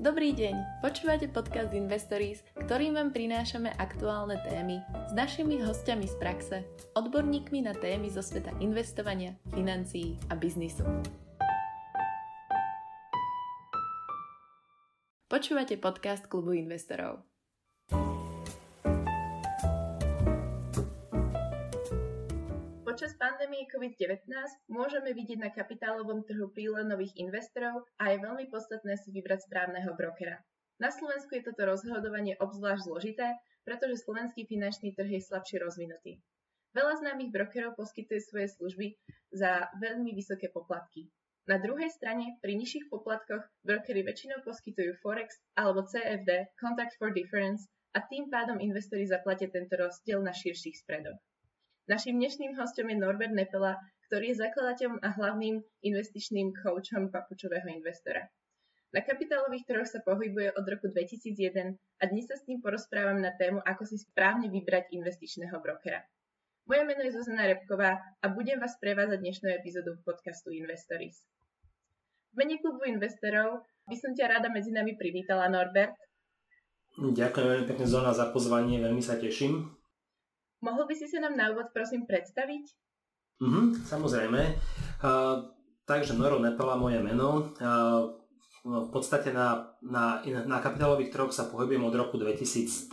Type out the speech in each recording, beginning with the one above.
Dobrý deň, počúvate podcast Investories, ktorým vám prinášame aktuálne témy s našimi hostiami z praxe, odborníkmi na témy zo sveta investovania, financií a biznisu. Počúvate podcast Klubu investorov. Počas pandémie COVID-19 môžeme vidieť na kapitálovom trhu prílev nových investorov a je veľmi podstatné si vybrať správneho brokera. Na Slovensku je toto rozhodovanie obzvlášť zložité, pretože slovenský finančný trh je slabšie rozvinutý. Veľa známych brokerov poskytuje svoje služby za veľmi vysoké poplatky. Na druhej strane, pri nižších poplatkoch brokery väčšinou poskytujú Forex alebo CFD, Contract for Difference, a tým pádom investori zaplatia tento rozdiel na širších spreadoch. Naším dnešným hosťom je Norbert Nepela, ktorý je zakladateľom a hlavným investičným coachom papučového investora. Na kapitálových trhoch sa pohybuje od roku 2001 a dnes sa s ním porozprávam na tému, ako si správne vybrať investičného brokera. Moje meno je Zuzana Repková a budem vás prevázať dnešnú epizódu podcastu Investories. V mene Klubu investorov by som ťa rada medzi nami privítala, Norbert. Ďakujem veľmi pekne, Zuzana, za pozvanie, veľmi sa teším. Mohol by si sa nám na úvod prosím predstaviť? Samozrejme. Takže Noro Nepela, moje meno. V podstate na kapitálových trhoch sa pohybujem od roku 2001,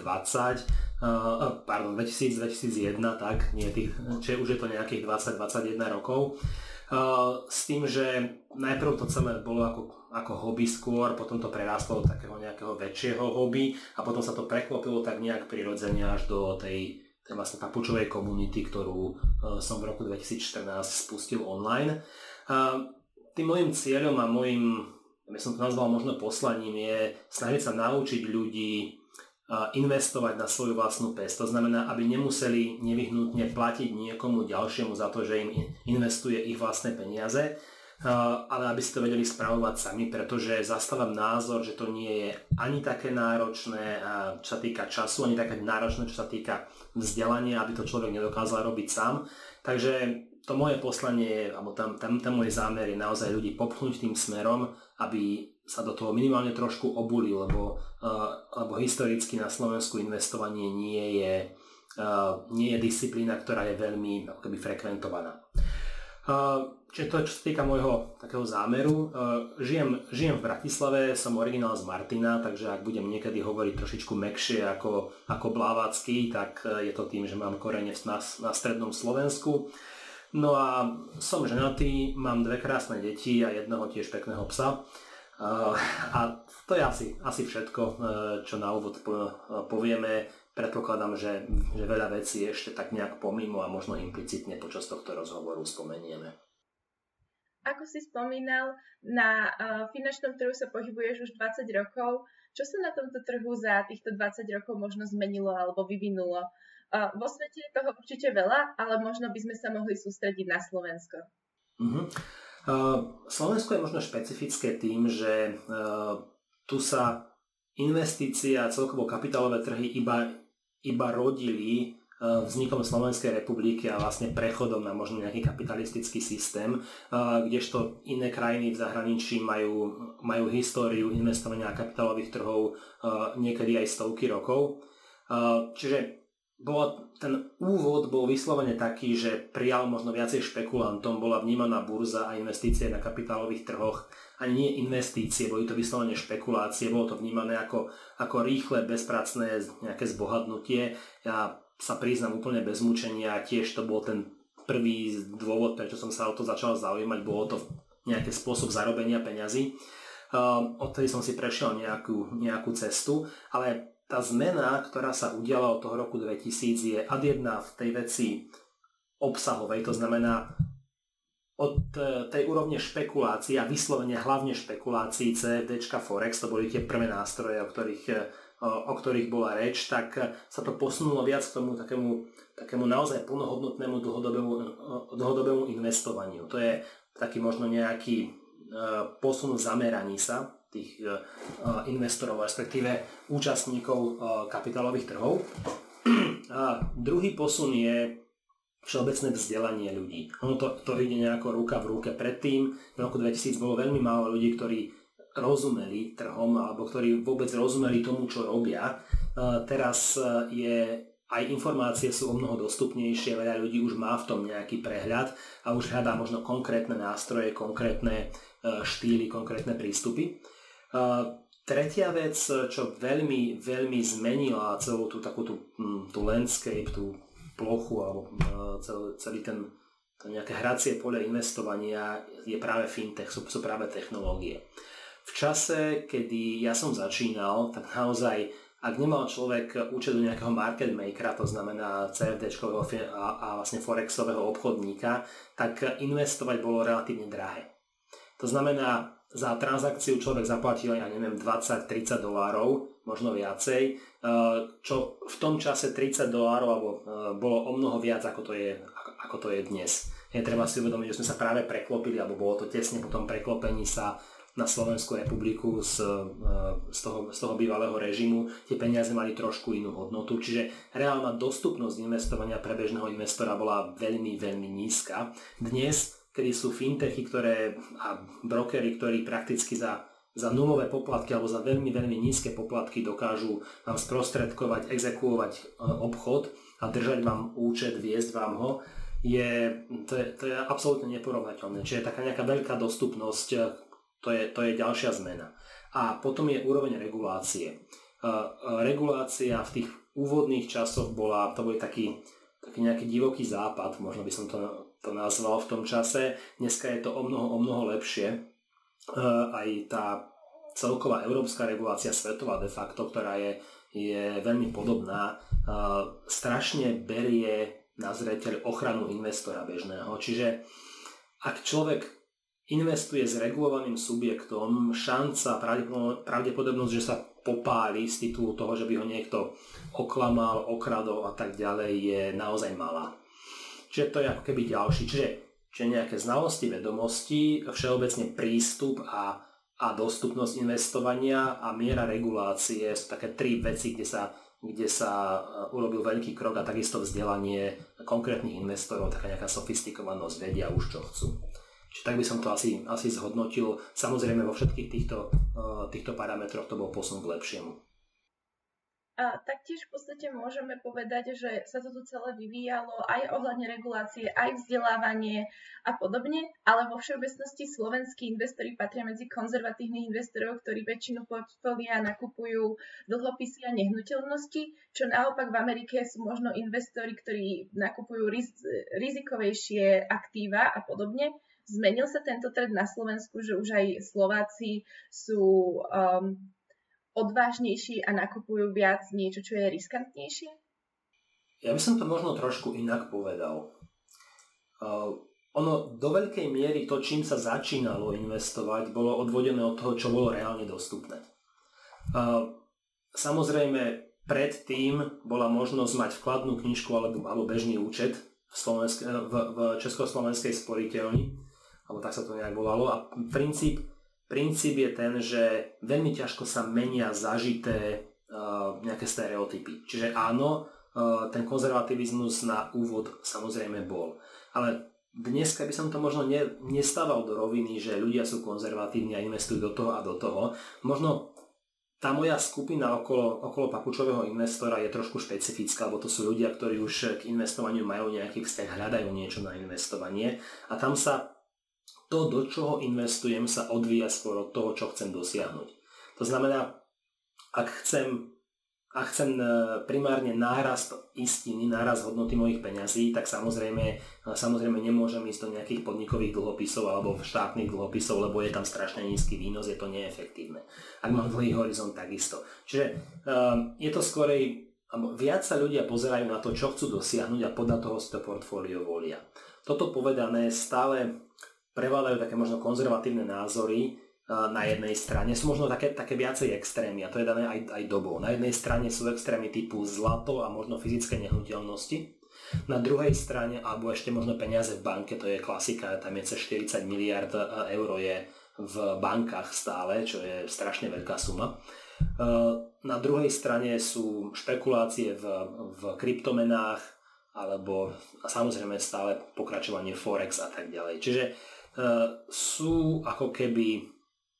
tak, už je to nejakých 20-21 rokov. S tým, že najprv to celé bolo ako hobby skôr, potom to prerástlo do takého nejakého väčšieho hobby a potom sa to preklopilo tak nejak prirodzene až do tej vlastne papučovej komunity, ktorú som v roku 2014 spustil online. Tým môjim cieľom a ja som to nazval možno poslaním, je snažiť sa naučiť ľudí investovať na svoju vlastnú pes. To znamená, aby nemuseli nevyhnutne platiť niekomu ďalšiemu za to, že im investuje ich vlastné peniaze, ale aby si to vedeli spravovať sami, pretože zastávam názor, že to nie je ani také náročné, čo sa týka času, ani také náročné, čo sa týka vzdelania, aby to človek nedokázal robiť sám. Takže to moje poslanie, alebo ten môj zámer je naozaj ľudí popchnúť tým smerom, aby sa do toho minimálne trošku obuli, lebo historicky na Slovensku investovanie nie je disciplína, ktorá je veľmi akoby frekventovaná. Čiže to, čo sa týka môjho takého zámeru, žijem v Bratislave, som originál z Martina, takže ak budem niekedy hovoriť trošičku mäkšie ako Blávacký, tak je to tým, že mám korene na strednom Slovensku. No a som ženatý, mám 2 krásne deti a jedného tiež pekného psa. A to je asi všetko, čo na úvod povieme. Predpokladám, že veľa vecí je ešte tak nejak pomimo a možno implicitne počas tohto rozhovoru spomenieme. Ako si spomínal, na finančnom trhu sa pohybuješ už 20 rokov. Čo sa na tomto trhu za týchto 20 rokov možno zmenilo alebo vyvinulo? Vo svete je toho určite veľa, ale možno by sme sa mohli sústrediť na Slovensko. Slovensko je možno špecifické tým, že tu sa investície a celkovo kapitálové trhy iba rodili vznikom Slovenskej republiky a vlastne prechodom na možno nejaký kapitalistický systém, kdežto iné krajiny v zahraničí majú históriu investovania kapitálových trhov niekedy aj stovky rokov. Čiže ten úvod bol vyslovene taký, že prijal možno viacej špekulantom, bola vnímaná burza a investície na kapitálových trhoch, ani nie investície, boli to vyslovene špekulácie, bolo to vnímané ako rýchle, bezpracné nejaké zbohatnutie. Ja sa priznám úplne bez mučenia, tiež to bol ten prvý dôvod, prečo som sa o to začal zaujímať, bolo to nejaký spôsob zarobenia peňazí. Odtedy som si prešiel nejakú cestu, ale tá zmena, ktorá sa udiala od toho roku 2000, je ad jedna v tej veci obsahovej, to znamená od tej úrovne špekulácií a vyslovene hlavne špekulácií CFDčka Forex, to boli tie prvé nástroje, o ktorých bola reč, tak sa to posunulo viac k tomu takému naozaj plnohodnotnému dlhodobému investovaniu. To je taký možno nejaký posun v zameraní sa tých investorov, respektíve účastníkov kapitálových trhov. A druhý posun je všeobecné vzdelanie ľudí. Ono to ide nejako ruka v ruke. Predtým, v roku 2000, bolo veľmi málo ľudí, ktorí rozumeli trhom alebo ktorí vôbec rozumeli tomu, čo robia. Teraz aj informácie sú o mnoho dostupnejšie, veľa ľudí už má v tom nejaký prehľad a už hľadá možno konkrétne nástroje, konkrétne štýly, konkrétne prístupy. Tretia vec, čo veľmi, veľmi zmenila celú tú takú tú landscape, tú plochu alebo celý ten nejaké hracie pole investovania je práve fintech, sú práve technológie. V čase, kedy ja som začínal, tak naozaj, ak nemal človek účet u nejakého market makera, to znamená CFDčkového a vlastne forexového obchodníka, tak investovať bolo relatívne drahé. To znamená, za transakciu človek zaplatil, ja neviem, $20-30, možno viacej, čo v tom čase $30 bolo o mnoho viac, ako to je dnes. Treba si uvedomiť, že sme sa práve preklopili, alebo bolo to tesne po tom preklopení sa na Slovenskú republiku z toho bývalého režimu. Tie peniaze mali trošku inú hodnotu, čiže reálna dostupnosť investovania pre bežného investora bola veľmi, veľmi nízka. Dnes, kedy sú fintechy a brokery, ktorí prakticky za nulové poplatky alebo za veľmi, veľmi nízke poplatky dokážu vám sprostredkovať, exekuovať obchod a držať vám účet, viesť vám ho, to je absolútne neporovnateľné. Čiže taká nejaká veľká dostupnosť, to je ďalšia zmena. A potom je úroveň regulácie. Regulácia v tých úvodných časoch to bol taký nejaký divoký západ, možno by som to nazval v tom čase. Dneska je to o mnoho lepšie. Aj tá celková európska regulácia, svetová de facto, ktorá je veľmi podobná, strašne berie na zreteľ ochranu investora bežného. Čiže ak človek investuje s regulovaným subjektom, šanca, pravdepodobnosť, že sa popáli z titulu toho, že by ho niekto oklamal, okradol a tak ďalej, je naozaj malá. Čiže to je ako keby ďalší. Čiže nejaké znalosti, vedomosti, všeobecne prístup a dostupnosť investovania a miera regulácie sú také tri veci, kde sa urobil veľký krok, a takisto vzdelanie konkrétnych investorov, taká nejaká sofistikovanosť, vedia už čo chcú. Čiže tak by som to asi zhodnotil. Samozrejme vo všetkých týchto parametroch to bol posun k lepšiemu. A taktiež v podstate môžeme povedať, že sa to tu celé vyvíjalo aj ohľadne regulácie, aj vzdelávanie a podobne, ale vo všeobecnosti slovenskí investori patria medzi konzervatívnych investorov, ktorí väčšinu portfólia nakupujú dlhopisy a nehnuteľnosti, čo naopak v Amerike sú možno investori, ktorí nakupujú rizikovejšie aktíva a podobne. Zmenil sa tento trend na Slovensku, že už aj Slováci sú odvážnejší a nakupujú viac niečo, čo je riskantnejšie? Ja by som to možno trošku inak povedal. Ono do veľkej miery to, čím sa začínalo investovať, bolo odvodené od toho, čo bolo reálne dostupné. Samozrejme, predtým bola možnosť mať vkladnú knižku alebo bežný účet v Československej sporiteľni, alebo tak sa to nejak volalo. A princíp je ten, že veľmi ťažko sa menia zažité nejaké stereotypy. Čiže áno, ten konzervativizmus na úvod samozrejme bol. Ale dneska by som to možno nestával do roviny, že ľudia sú konzervatívni a investujú do toho a do toho. Možno tá moja skupina okolo papučového investora je trošku špecifická, lebo to sú ľudia, ktorí už k investovaniu majú nejaký vzťah, hľadajú niečo na investovanie a tam sa to, do čoho investujem, sa odvíja skôr od toho, čo chcem dosiahnuť. To znamená, ak chcem primárne nárast istiny, nárast hodnoty mojich peňazí, tak samozrejme nemôžem ísť do nejakých podnikových dlhopisov alebo štátnych dlhopisov, lebo je tam strašne nízky výnos, je to neefektívne. Ak mám dlhý horizont, takisto. Čiže je to skorej, viac sa ľudia pozerajú na to, čo chcú dosiahnuť a podľa toho si to portfólio volia. Toto povedané, stále prevládajú také možno konzervatívne názory na jednej strane. Sú možno také viacej extrémy a to je dané aj dobou. Na jednej strane sú extrémy typu zlato a možno fyzické nehnuteľnosti. Na druhej strane, alebo ešte možno peniaze v banke, to je klasika, tam je cez 40 miliard eur je v bankách stále, čo je strašne veľká suma. Na druhej strane sú špekulácie v kryptomenách alebo samozrejme stále pokračovanie Forex a tak ďalej. Čiže sú ako keby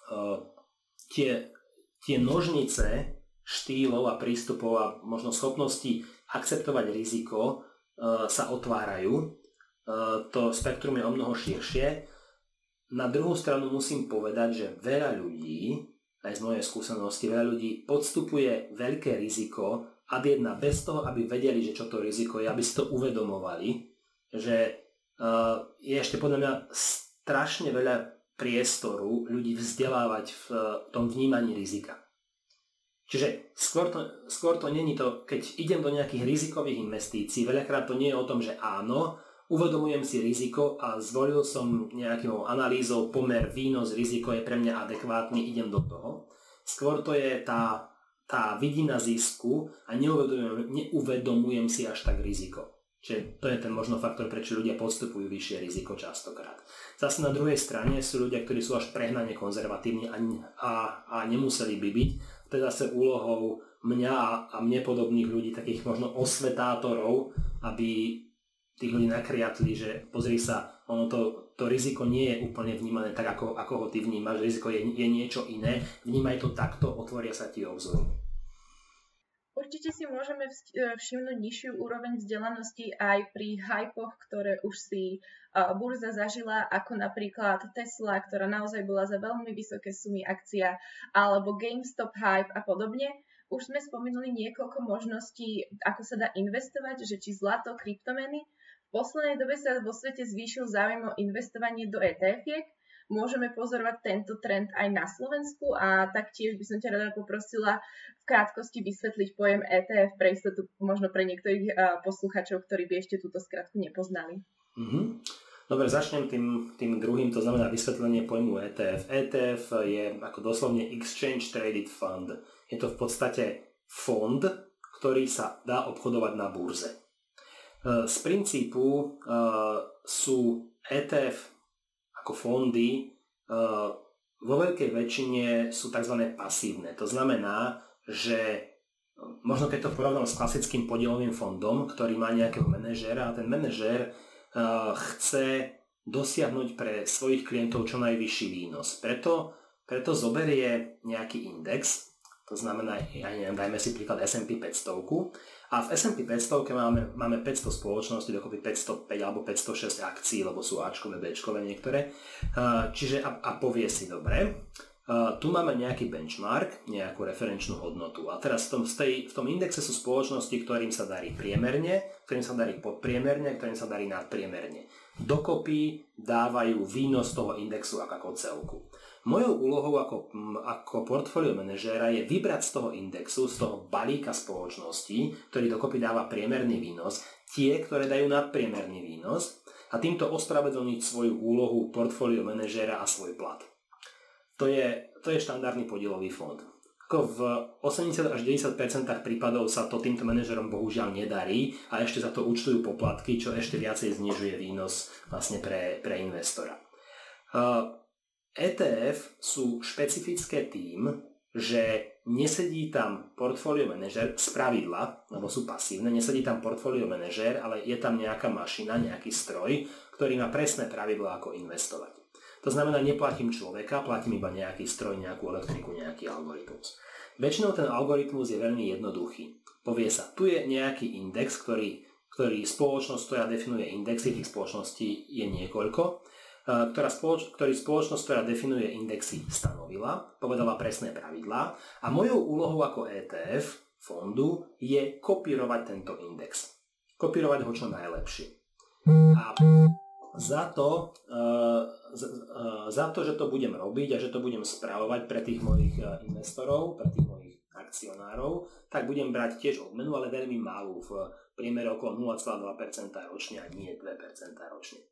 tie nožnice štýlov a prístupov a možno schopnosti akceptovať riziko sa otvárajú. To spektrum je omnoho širšie. Na druhú stranu musím povedať, že veľa ľudí, aj z mojej skúsenosti, veľa ľudí podstupuje veľké riziko ad jedna bez toho, aby vedeli, že čo to riziko je, aby si to uvedomovali, že je ešte podľa mňa strašne veľa priestoru ľudí vzdelávať v tom vnímaní rizika. Čiže skôr to není to, keď idem do nejakých rizikových investícií, veľakrát to nie je o tom, že áno, uvedomujem si riziko a zvolil som nejakou analýzou pomer výnos, riziko je pre mňa adekvátny, idem do toho. Skôr to je tá vidina zisku a neuvedomujem si až tak riziko. Čiže to je ten možno faktor, prečo ľudia podstupujú vyššie riziko častokrát. Zase na druhej strane sú ľudia, ktorí sú až prehnane konzervatívni a nemuseli by byť. To je zase úlohou mňa a mne podobných ľudí, takých možno osvetátorov, aby tých ľudí nakriatli, že pozri sa, to riziko nie je úplne vnímané tak, ako ho ty vnímaš, riziko je niečo iné, vnímaj to takto, otvoria sa ti obzory. Určite si môžeme všimnúť nižšiu úroveň vzdelanosti aj pri hypoch, ktoré už si burza zažila, ako napríklad Tesla, ktorá naozaj bola za veľmi vysoké sumy akcia, alebo GameStop hype a podobne. Už sme spomenuli niekoľko možností, ako sa dá investovať, že či zlato, kryptomeny. V poslednej dobe sa vo svete zvýšil záujem o investovanie do ETF-iek. Môžeme pozorovať tento trend aj na Slovensku a taktiež by som ťa rada poprosila v krátkosti vysvetliť pojem ETF pre istotu, možno pre niektorých posluchačov, ktorí by ešte túto skratku nepoznali. Dobre, začnem tým druhým, to znamená vysvetlenie pojmu ETF. ETF je ako doslovne Exchange Traded Fund. Je to v podstate fond, ktorý sa dá obchodovať na burze. Z princípu sú ETF ako fondy vo veľkej väčšine sú tzv. Pasívne. To znamená, že možno keď to porovnám s klasickým podielovým fondom, ktorý má nejakého manažéra a ten manažér chce dosiahnuť pre svojich klientov čo najvyšší výnos. Preto zoberie nejaký index, to znamená, dajme si príklad S&P 500 a v S&P 500 máme 500 spoločností, dokopy 505 alebo 506 akcií, lebo sú Ačkové, Bčkové niektoré. Čiže a povie si, dobre, tu máme nejaký benchmark, nejakú referenčnú hodnotu. A teraz v tom indexe sú spoločnosti, ktorým sa darí priemerne, ktorým sa darí podpriemerne, ktorým sa darí nadpriemerne. Dokopy dávajú výnos toho indexu ako celku. Mojou úlohou ako portfólio manažéra je vybrať z toho indexu, z toho balíka spoločností, ktorý dokopy dáva priemerný výnos, tie, ktoré dajú nadpriemerný výnos a týmto ospravedlniť svoju úlohu portfólio manažéra a svoj plat. To je štandardný podielový fond. Ako v 80 až 90% prípadov sa to týmto manažerom bohužiaľ nedarí a ešte za to účtujú poplatky, čo ešte viacej znižuje výnos vlastne pre investora. ETF sú špecifické tým, že nesedí tam portfólio manažér z pravidla, lebo sú pasívne, nesedí tam portfólio manažér, ale je tam nejaká mašina, nejaký stroj, ktorý má presné pravidlá, ako investovať. To znamená, neplatím človeka, platím iba nejaký stroj, nejakú elektriku, nejaký algoritmus. Väčšinou ten algoritmus je veľmi jednoduchý. Povie sa, tu je nejaký index, ktorý spoločnosť, ktorá definuje indexy, tých spoločností je niekoľko, ktorý spoločnosť, ktorá definuje indexy, stanovila, povedala presné pravidlá a mojou úlohou ako ETF fondu je kopírovať tento index. Kopírovať ho čo najlepšie. A za to, že to budem robiť a že to budem správovať pre tých mojich investorov, pre tých mojich akcionárov, tak budem brať tiež odmenu, ale veľmi malú, v priemere okolo 0,2% ročne a nie 2% ročne.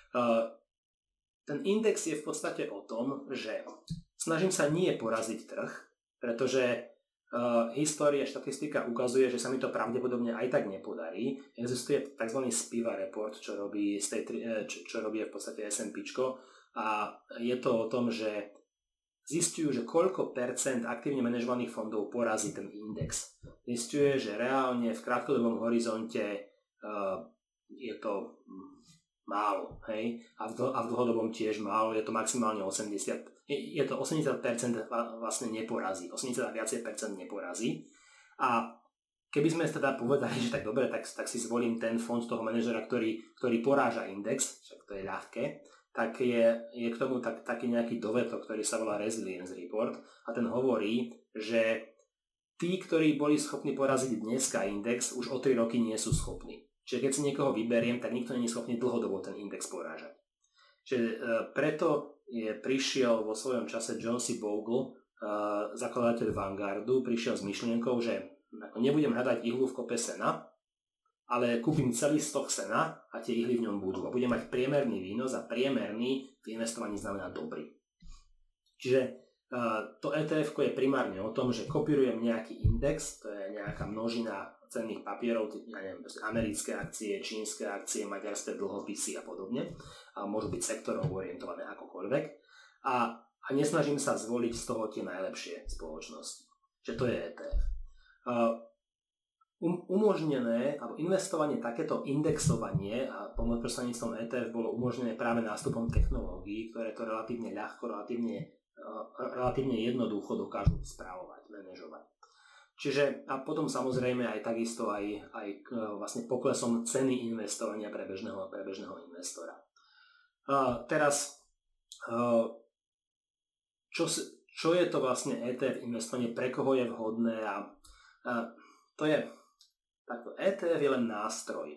Ten index je v podstate o tom, že snažím sa nie poraziť trh, pretože história, štatistika ukazuje, že sa mi to pravdepodobne aj tak nepodarí. Existuje tzv. Spiva report, čo robí v podstate S&Pčko a je to o tom, že zistujú, že koľko percent aktívne manažovaných fondov porazí ten index. Zistuje, že reálne v krátkodobom horizonte je to málo, hej? A v dlhodobom tiež málo, je to maximálne 80%. je to 80% vlastne neporazí, 80 a viacej percent neporazí. A keby sme teda povedali, že tak dobre, tak si zvolím ten fond toho manažera, ktorý poráža index, však to je ľahké, tak je k tomu taký nejaký dovetok, ktorý sa volá Resilience Report a ten hovorí, že tí, ktorí boli schopní poraziť dneska index, už o 3 roky nie sú schopní. Čiže keď si niekoho vyberiem, tak nikto nie je schopný dlhodobo ten index porážať. Čiže preto prišiel vo svojom čase John C. Bogle, zakladateľ Vanguardu, prišiel s myšlienkou, že nebudem hľadať ihlu v kope sena, ale kúpim celý stok sena a tie ihly v ňom budú. A budem mať priemerný výnos a priemerný v investovaní znamená dobrý. Čiže to ETF je primárne o tom, že kopírujem nejaký index, to je nejaká množina cenných papierov, ja neviem, americké akcie, čínske akcie, maďarské dlhopisy a podobne. A môžu byť sektorovo orientované akokoľvek. A nesnažím sa zvoliť z toho tie najlepšie spoločnosti. Čiže to je ETF. Umožnené, alebo investovanie, takéto indexovanie a prostredníctvom ETF bolo umožnené práve nástupom technológií, ktoré to relatívne ľahko, relatívne jednoducho dokážu správovať, manažovať. Čiže a potom samozrejme aj takisto aj vlastne poklesom ceny investovania pre bežného investora. Teraz čo je to vlastne ETF investovanie, pre koho je vhodné a to je takto. ETF je len nástroj,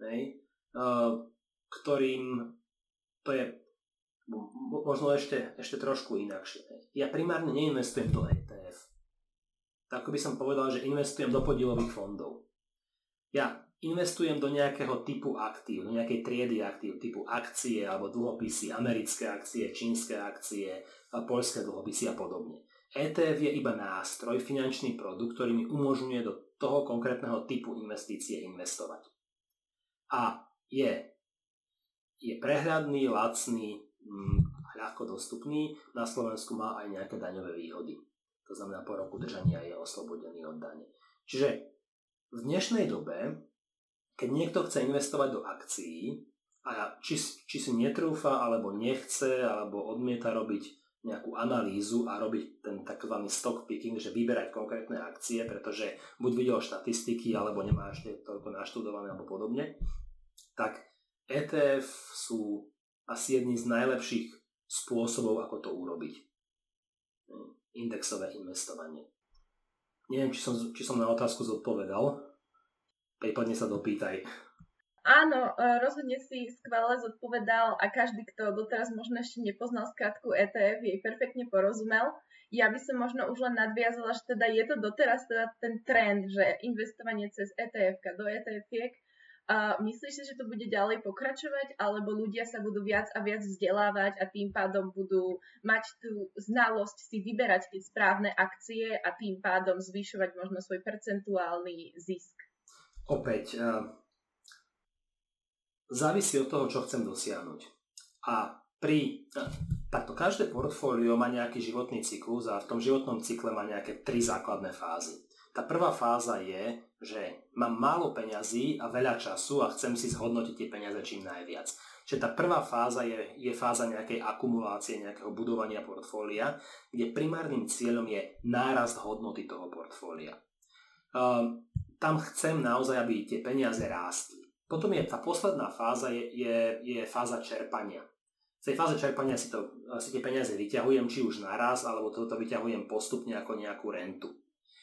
ktorým to je možno ešte trošku inakšie. Ja primárne neinvestujem do ETF. Tak by som povedal, že investujem do podielových fondov. Ja investujem do nejakého typu aktív, do nejakej triedy aktív, typu akcie alebo dlhopisy, americké akcie, čínske akcie, poľské dlhopisy a podobne. ETF je iba nástroj, finančný produkt, ktorý mi umožňuje do toho konkrétneho typu investície investovať. A je prehľadný, lacný, ľahko dostupný, na Slovensku má aj nejaké daňové výhody. To znamená, po roku držania je oslobodený od dane. Čiže v dnešnej dobe, keď niekto chce investovať do akcií a či si netrúfa, alebo nechce, alebo odmieta robiť nejakú analýzu a robiť ten takzvaný stock picking, že vyberať konkrétne akcie, pretože buď videl štatistiky, alebo nemá ešte toľko naštudované, alebo podobne, tak ETF sú asi jedný z najlepších spôsobov, ako to urobiť. Indexové investovanie. Neviem, či som na otázku zodpovedal. Prípadne sa dopýtaj. Áno, rozhodne si skvele zodpovedal a každý, kto doteraz možno ešte nepoznal skratku ETF, jej perfektne porozumel. Ja by som možno už len nadviazala, že teda je to doteraz teda ten trend, že investovanie cez ETF-ka do ETF-iek. Myslíš si, že to bude ďalej pokračovať, alebo ľudia sa budú viac a viac vzdelávať a tým pádom budú mať tú znalosť si vyberať tie správne akcie a tým pádom zvyšovať možno svoj percentuálny zisk? Opäť, závisí od toho, čo chcem dosiahnuť. A takto každé portfólio má nejaký životný cyklus a v tom životnom cykle má nejaké 3 základné fázy. Tá prvá fáza je, že mám málo peňazí a veľa času a chcem si zhodnotiť tie peniaze čím najviac. Čiže tá prvá fáza je fáza nejakej akumulácie, nejakého budovania portfólia, kde primárnym cieľom je nárast hodnoty toho portfólia. Tam chcem naozaj, aby tie peniaze rástli. Potom je tá posledná fáza, je fáza čerpania. V tej fáze čerpania si tie peniaze vyťahujem, či už naraz, alebo to vyťahujem postupne ako nejakú rentu.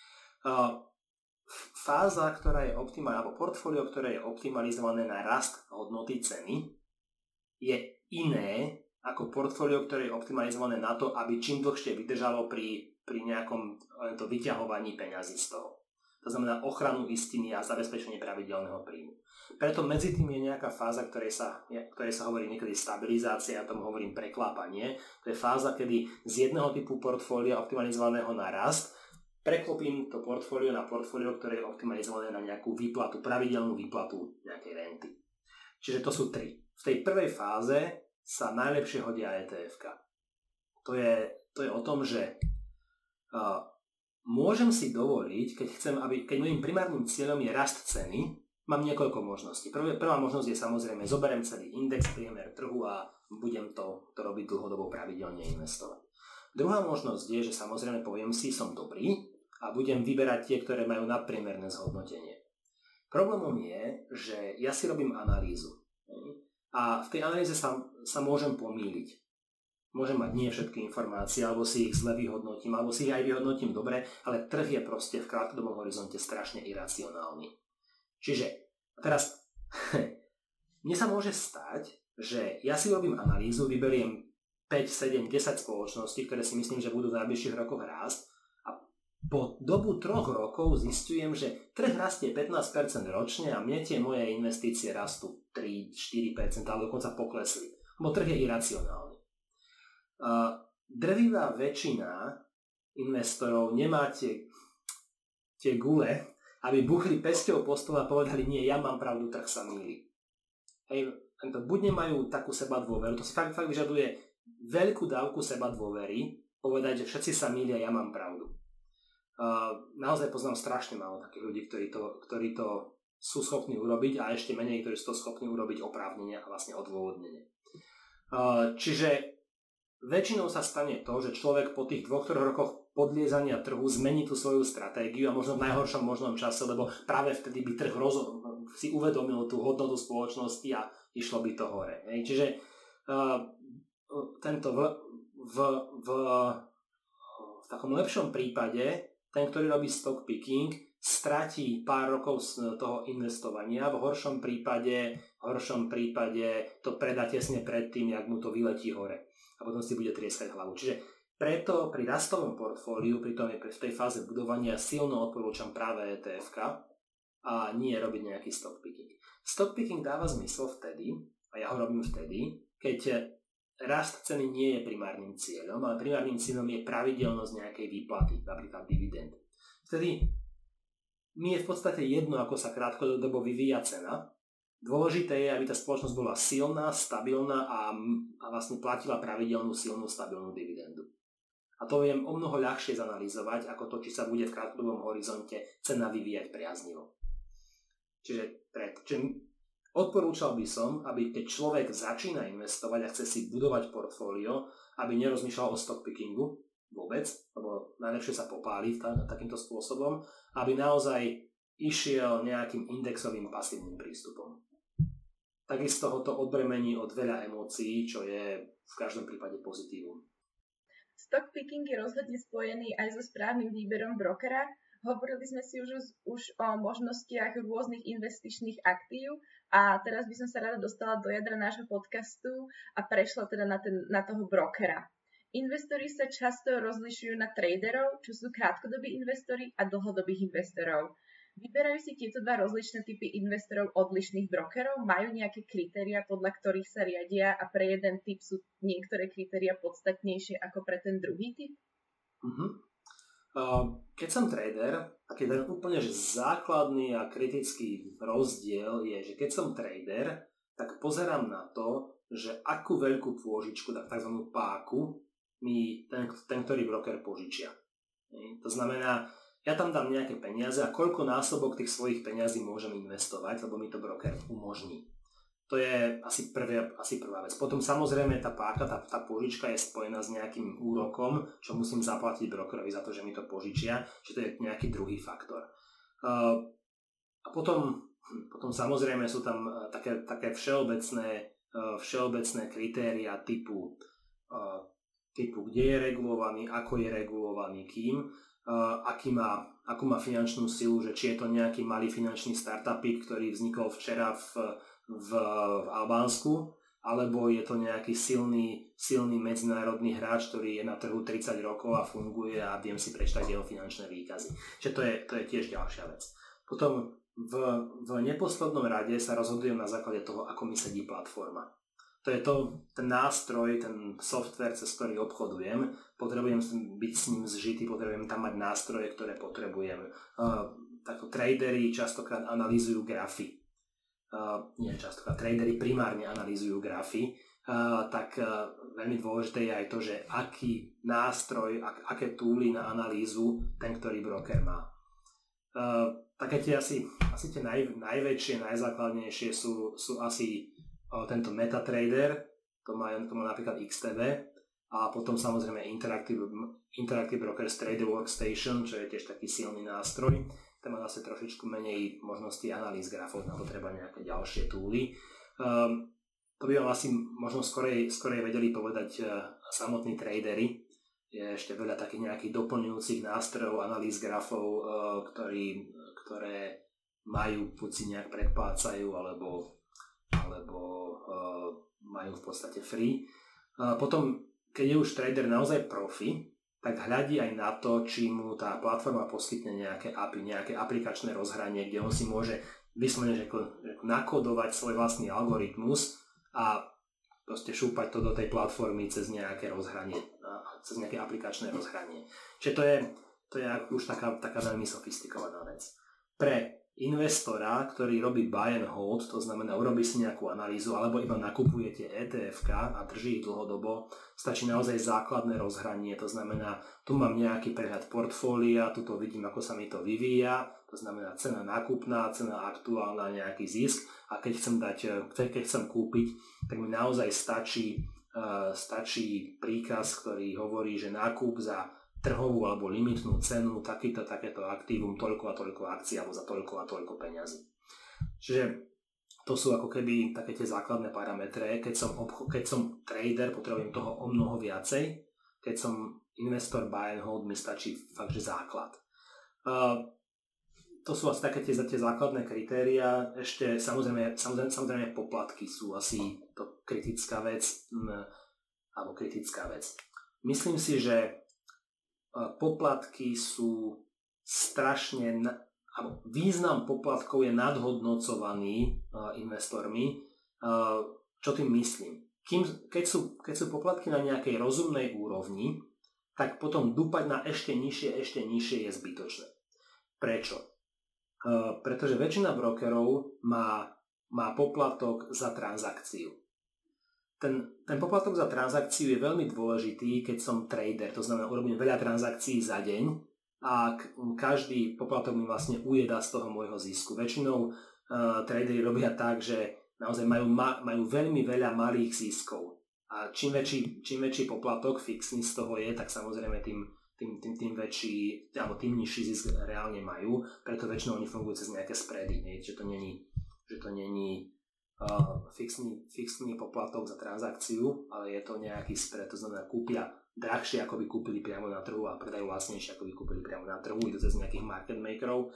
Fáza, ktorá je optimálna, alebo portfólio, ktoré je optimalizované na rast hodnoty ceny, je iné ako portfólio, ktoré je optimalizované na to, aby čím dlhšie vydržalo pri nejakom to vyťahovaní peňazí z toho. To znamená ochranu istiny a zabezpečenie pravidelného príjmu. Preto medzi tým je nejaká fáza, ktorej sa hovorí niekedy stabilizácia, ja tomu hovorím preklápanie. To je fáza, kedy z jedného typu portfólia optimalizovaného na rast preklopím to portfólio na portfólio, ktoré je optimalizované na nejakú výplatu, pravidelnú výplatu nejakej renty. Čiže to sú 3. V tej prvej fáze sa najlepšie hodia ETF-ka. To je o tom, že môžem si dovoliť, keď môjim primárnym cieľom je rast ceny, mám niekoľko možností. Prvá možnosť je samozrejme, zoberiem celý index, priemer trhu a budem to robiť dlhodobo pravidelne investovať. Druhá možnosť je, že samozrejme poviem si, som dobrý a budem vyberať tie, ktoré majú nadpriemerné zhodnotenie. Problémom je, že ja si robím analýzu a v tej analýze sa môžem pomýliť. Môžem mať nie všetky informácie, alebo si ich zle vyhodnotím, alebo si ich aj vyhodnotím dobre, ale trh je proste v krátkodobom horizonte strašne iracionálny. Čiže teraz mne sa môže stať, že ja si robím analýzu, vyberiem 5, 7, 10 spoločností, ktoré si myslím, že budú v najbližších rokoch rásť a po dobu 3 rokov zistujem, že trh rastie 15% ročne a mne tie moje investície rastú 3-4% alebo dokonca poklesli, lebo trh je iracionálny. Drvivá väčšina investorov nemá tie gule, aby buchli pesťou po stole a povedali, nie, ja mám pravdu, trh sa mýli. Hej, buď nemajú takú seba dôveru, to si fakt vyžaduje veľkú dávku seba dôvery, povedať, že všetci sa mýlia, ja mám pravdu. Naozaj poznám strašne málo takých ľudí, ktorí to sú schopní urobiť a ešte menej, ktorí sú to schopní urobiť oprávnene a vlastne odôvodnene. Čiže väčšinou sa stane to, že človek po tých 2-3 rokoch podliezania trhu zmení tú svoju stratégiu a možno v najhoršom možnom čase, lebo práve vtedy by trh si uvedomil tú hodnotu spoločnosti a išlo by to hore. Čiže tento v takom lepšom prípade ten, ktorý robí stock picking, stratí pár rokov z toho investovania, v horšom prípade to predá tesne pred tým, jak mu to vyletí hore a potom si bude trieskať hlavu. Čiže preto pri rastovom portfóliu, v tej fáze budovania silno odporúčam práve ETF-ka a nie robiť nejaký stock picking. Stock picking dáva zmysel vtedy, a ja ho robím vtedy, keď rast ceny nie je primárnym cieľom, ale primárnym cieľom je pravidelnosť nejakej výplaty, napríklad dividend. Vtedy mi je v podstate jedno, ako sa krátkodobo vyvíja cena. Dôležité je, aby tá spoločnosť bola silná, stabilná a vlastne platila pravidelnú, silnú, stabilnú dividendu. A to viem o mnoho ľahšie zanalýzovať, ako to, či sa bude v krátkodobom horizonte cena vyvíjať priaznivo. Čiže odporúčal by som, aby keď človek začína investovať a chce si budovať portfólio, aby nerozmýšľal o stock pickingu vôbec, lebo najlepšie sa popáli takýmto spôsobom, aby naozaj išiel nejakým indexovým pasívnym prístupom. Takisto ho to odbremení od veľa emócií, čo je v každom prípade pozitívum. Stock picking je rozhodne spojený aj so správnym výberom brokera. Hovorili sme si už o možnostiach rôznych investičných aktív a teraz by som sa rada dostala do jadra nášho podcastu a prešla teda na toho brokera. Investori sa často rozlišujú na traderov, čo sú krátkodobí investori a dlhodobých investorov. Vyberajú si tieto dva rozličné typy investorov odlišných brokerov? Majú nejaké kritériá, podľa ktorých sa riadia a pre jeden typ sú niektoré kritériá podstatnejšie ako pre ten druhý typ? Keď som trader, taký ten úplne základný a kritický rozdiel je, že keď som trader, tak pozerám na to, že akú veľkú pôžičku, tzv. Páku, mi ten ktorý broker požičia. To znamená, ja tam dám nejaké peniaze a koľko násobok tých svojich peniazí môžem investovať, lebo mi to broker umožní. To je asi prvá vec. Potom samozrejme tá páka, tá požička je spojená s nejakým úrokom, čo musím zaplatiť brokerovi za to, že mi to požičia, čiže to je nejaký druhý faktor. A potom samozrejme sú tam také všeobecné kritéria typu kde je regulovaný, ako je regulovaný, kým, akú má finančnú silu, že či je to nejaký malý finančný startupík, ktorý vznikol včera v Albánsku, alebo je to nejaký silný medzinárodný hráč, ktorý je na trhu 30 rokov a funguje a viem si prečítať jeho finančné výkazy. Čiže to je tiež ďalšia vec. Potom v neposlednom rade sa rozhodujem na základe toho, ako mi sedí platforma. To je ten nástroj, ten software, cez ktorý obchodujem. Potrebujem byť s ním zžitý, potrebujem tam mať nástroje, ktoré potrebujem. Takto tradery častokrát analýzujú grafy. Tradery primárne analýzujú grafy. Tak veľmi dôležité je aj to, že aký nástroj, aké túly na analýzu ten, ktorý broker má. Také tie asi tie najväčšie, najzákladnejšie sú asi tento MetaTrader, to má napríklad XTB, a potom samozrejme Interactive Brokers Trader Workstation, čo je tiež taký silný nástroj. Tam má zase trošičku menej možností analýz grafov, na to treba nejaké ďalšie túly. To by vám asi možno skorej vedeli povedať samotní tradery. Je ešte veľa takých nejakých doplňujúcich nástrojov, analýz grafov, ktoré majú, buď si nejak predplácajú, alebo majú v podstate free. Potom, keď je už trader naozaj profi, tak hľadí aj na to, či mu tá platforma poskytne nejaké API, nejaké aplikačné rozhranie, kde on si môže vyslovene nakodovať svoj vlastný algoritmus a proste šúpať to do tej platformy cez nejaké rozhranie, cez nejaké aplikačné rozhranie. Čiže to je už taká veľmi sofistikovaná vec. Pre investora, ktorý robí buy and hold, to znamená urobí si nejakú analýzu alebo iba nakupujete ETF-ka a drží ich dlhodobo, stačí naozaj základné rozhranie, to znamená, tu mám nejaký prehľad portfólia, tu to vidím, ako sa mi to vyvíja, to znamená cena nákupná, cena aktuálna, nejaký zisk a keď chcem kúpiť, tak mi naozaj stačí príkaz, ktorý hovorí, že nákup za trhovú alebo limitnú cenu, takéto aktívum, toľko a toľko akcií alebo za toľko a toľko peňazí. Čiže to sú ako keby také tie základné parametre. Keď som trader, potrebujem toho o mnoho viacej. Keď som investor buy and hold, mi stačí fakt, že základ. To sú asi také tie základné kritériá. Ešte samozrejme poplatky sú asi to kritická vec. Myslím si, že poplatky sú význam poplatkov je nadhodnocovaný investormi. Čo tým myslím? Keď sú poplatky na nejakej rozumnej úrovni, tak potom dúpať na ešte nižšie je zbytočné. Prečo? Pretože väčšina brokerov má poplatok za transakciu. Ten poplatok za transakciu je veľmi dôležitý, keď som trader, to znamená, urobím veľa transakcií za deň a každý poplatok mi vlastne ujeda z toho môjho zisku. Väčšinou tradery robia tak, že naozaj majú veľmi veľa malých ziskov a čím väčší poplatok fixný z toho je, tak samozrejme tým väčší, alebo tým nižší zisk reálne majú, preto väčšinou oni fungujú cez nejaké spready, že to není fixný poplatok za transakciu, ale je to nejaký spread, to znamená kúpia drahšie, ako by kúpili priamo na trhu a predajú lacnejšie, ako by kúpili priamo na trhu, idú cez nejakých market makerov.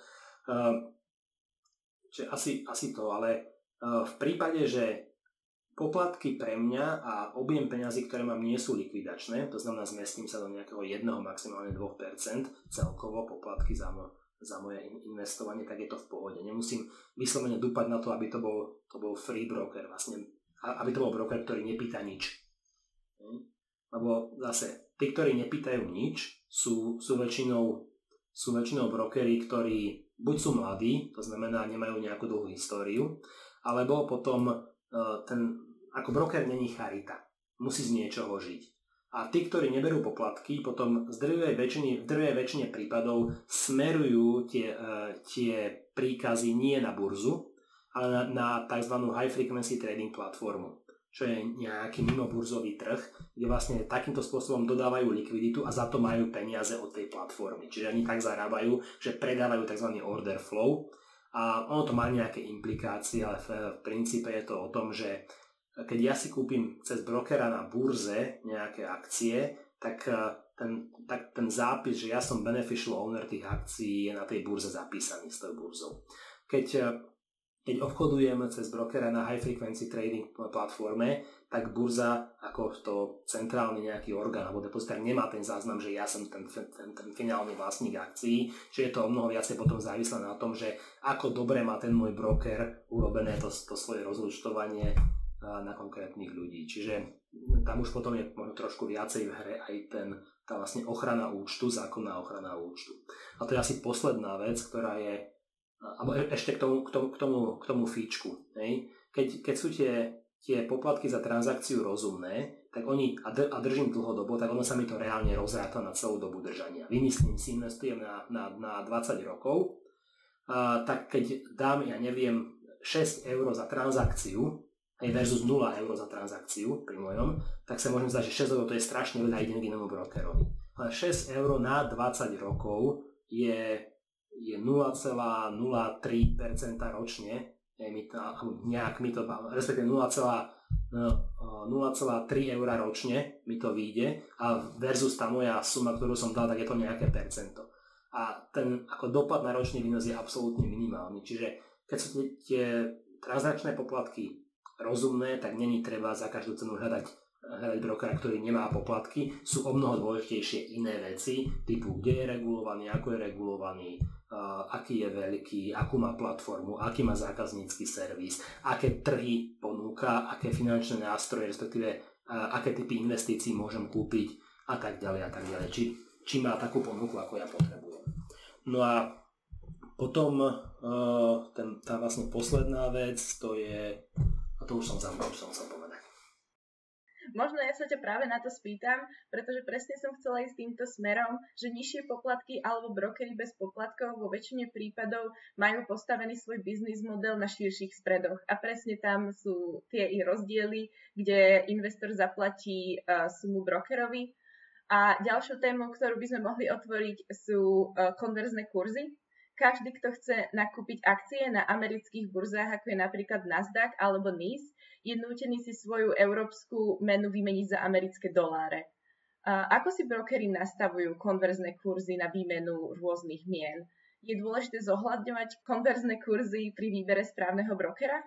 Čiže asi to, ale v prípade, že poplatky pre mňa a objem peňazí, ktoré mám, nie sú likvidačné, to znamená zmestím sa do nejakého 1, maximálne 2% celkovo poplatky za moje investovanie, tak je to v pohode. Nemusím vyslovene dúpať na to, aby to bol free broker, vlastne, aby to bol broker, ktorý nepýta nič. Lebo zase, tí, ktorí nepýtajú nič, sú väčšinou brokery, ktorí buď sú mladí, to znamená, nemajú nejakú dlhú históriu, alebo potom ako broker není charita. Musí z niečoho žiť. A tí, ktorí neberú poplatky, potom v drvivej väčšine prípadov smerujú tie príkazy nie na burzu, ale na tzv. High frequency trading platformu, čo je nejaký mimoburzový trh, kde vlastne takýmto spôsobom dodávajú likviditu a za to majú peniaze od tej platformy. Čiže oni tak zarábajú, že predávajú tzv. Order flow a ono to má nejaké implikácie, ale v princípe je to o tom, že keď ja si kúpim cez brokera na burze nejaké akcie, tak ten zápis, že ja som beneficial owner tých akcií, je na tej burze zapísaný s tou burzou. Keď obchodujem cez brokera na high frequency trading platforme, tak burza ako to centrálny nejaký orgán alebo depozitár nemá ten záznam, že ja som ten finálny vlastník akcií, že je to o mnoho viacej potom závislé na tom, že ako dobre má ten môj broker urobené to svoje rozúčtovanie na konkrétnych ľudí. Čiže tam už potom je možno trošku viacej v hre aj tá vlastne ochrana účtu, zákonná ochrana účtu. A to je asi posledná vec, ktorá je, alebo ešte k tomu fíčku. Keď sú tie poplatky za transakciu rozumné, tak oni, a držím dlhodobo, tak ono sa mi to reálne rozráta na celú dobu držania. Vymyslím si, investujem na 20 rokov, tak keď dám, 6 eur za transakciu, versus 0 eur za transakciu pri mojom, tak sa môžem zdať, že 6 eur to je strašne veľa ide k inému brokerovi. Ale 6 eur na 20 rokov je 0,03% ročne, respektíve 0,3 eur ročne mi to vyjde a versus tá moja suma, ktorú som dal, tak je to nejaké percento. A ten ako dopad na ročný výnos je absolútne minimálny. Čiže keď sú tie transakčné poplatky rozumné, tak není treba za každú cenu hľadať brokera, ktorý nemá poplatky. Sú o mnoho dôležitejšie iné veci, typu kde je regulovaný, ako je regulovaný, aký je veľký, akú má platformu, aký má zákaznícky servis, aké trhy ponúka, aké finančné nástroje, respektíve aké typy investícií môžem kúpiť a tak ďalej a tak ďalej. Či má takú ponuku, ako ja potrebujem. No a potom tá vlastne posledná vec, to je, a to už som chcel povedať. Možno ja sa ťa práve na to spýtam, pretože presne som chcela ísť týmto smerom, že nižšie poplatky alebo brokery bez poplatkov vo väčšine prípadov majú postavený svoj biznis model na širších spreadoch. A presne tam sú tie i rozdiely, kde investor zaplatí sumu brokerovi. A ďalšiu tému, ktorú by sme mohli otvoriť, sú konverzné kurzy. Každý, kto chce nakúpiť akcie na amerických burzách, ako je napríklad Nasdaq alebo NYSE, je nútený si svoju európsku menu vymeniť za americké doláre. Ako si brokery nastavujú konverzné kurzy na výmenu rôznych mien? Je dôležité zohľadňovať konverzné kurzy pri výbere správneho brokera?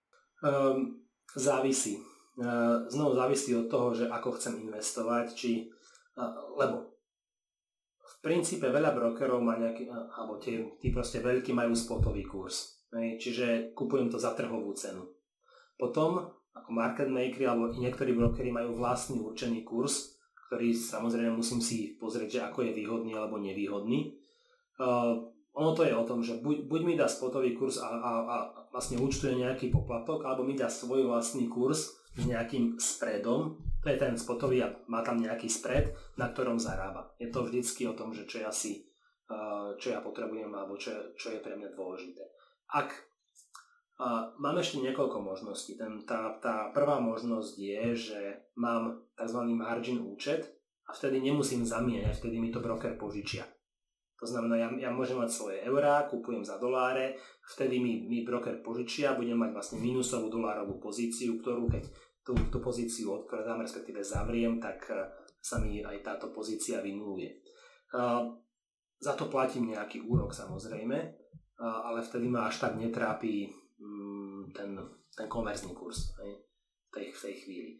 Závisí. Znovu závisí od toho, že ako chcem investovať, lebo v princípe veľa brokerov má nejaký, alebo tí proste veľkí majú spotový kurz. Čiže kupujem to za trhovú cenu. Potom, ako market makery alebo niektorí brokery majú vlastný určený kurz, ktorý samozrejme musím si pozrieť, že ako je výhodný alebo nevýhodný. Ono to je o tom, že buď mi dá spotový kurz a vlastne účtuje nejaký poplatok, alebo mi dá svoj vlastný kurz s nejakým spreadom. To je ten spotový a má tam nejaký spread, na ktorom zarába. Je to vždycky o tom, že čo ja potrebujem alebo čo je pre mňa dôležité. Mám ešte niekoľko možností. Tá prvá možnosť je, že mám tzv. Margin účet a vtedy nemusím zamieňať, vtedy mi to broker požičia. To znamená, ja môžem mať svoje eurá, kupujem za doláre, vtedy mi broker požičia, budem mať vlastne minusovú dolárovú pozíciu, ktorú keď tú pozíciu odpredám, respektíve zavriem, tak sa mi aj táto pozícia vynuluje. Za to platím nejaký úrok samozrejme, ale vtedy ma až tak netrápi ten konverzný kurz v tej chvíli.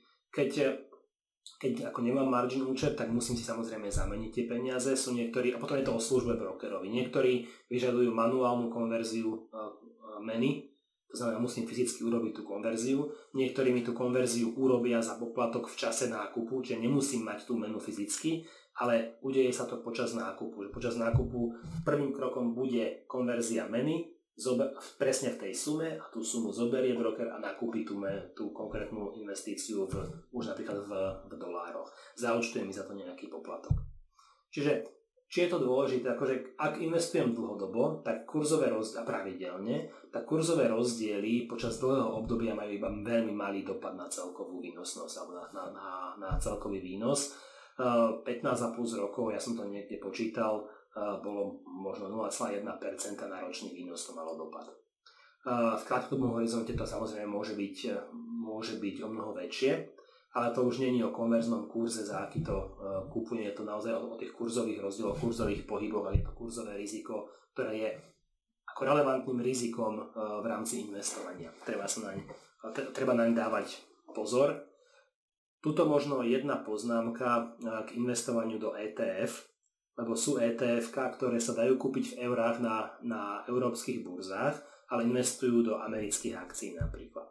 Keď ako nemám margin účet, tak musím si samozrejme zameniť tie peniaze. Sú niektorí, a potom je to o službe brokerovi. Niektorí vyžadujú manuálnu konverziu meny, to znamená, musím fyzicky urobiť tú konverziu. Niektorí mi tú konverziu urobia za poplatok v čase nákupu, čiže nemusím mať tú menu fyzicky, ale udeje sa to počas nákupu. Počas nákupu prvým krokom bude konverzia meny, presne v tej sume a tú sumu zoberie broker a nakúpi tú konkrétnu investíciu už napríklad v dolároch. Zaúčtuje mi za to nejaký poplatok. Čiže či je to dôležité, akože ak investujem dlhodobo, tak kurzové rozdiely pravidelne, tak kurzové rozdiely počas dlhého obdobia majú iba veľmi malý dopad na celkovú výnosnosť alebo na celkový výnos. 15 a plus rokov, ja som to niekde počítal, bolo možno 0,1% na ročný výnos to malo dopad. V krátkodobom horizonte to samozrejme môže byť o mnoho väčšie, ale to už nie je o konverznom kurze, za aký to kupuje, je to naozaj o tých kurzových rozdieloch, kurzových pohyboch, ale je to kurzové riziko, ktoré je ako relevantným rizikom v rámci investovania. Treba naň dávať pozor. Tuto možno jedna poznámka k investovaniu do ETF, lebo sú ETF-ka, ktoré sa dajú kúpiť v eurách na európskych burzách, ale investujú do amerických akcií napríklad.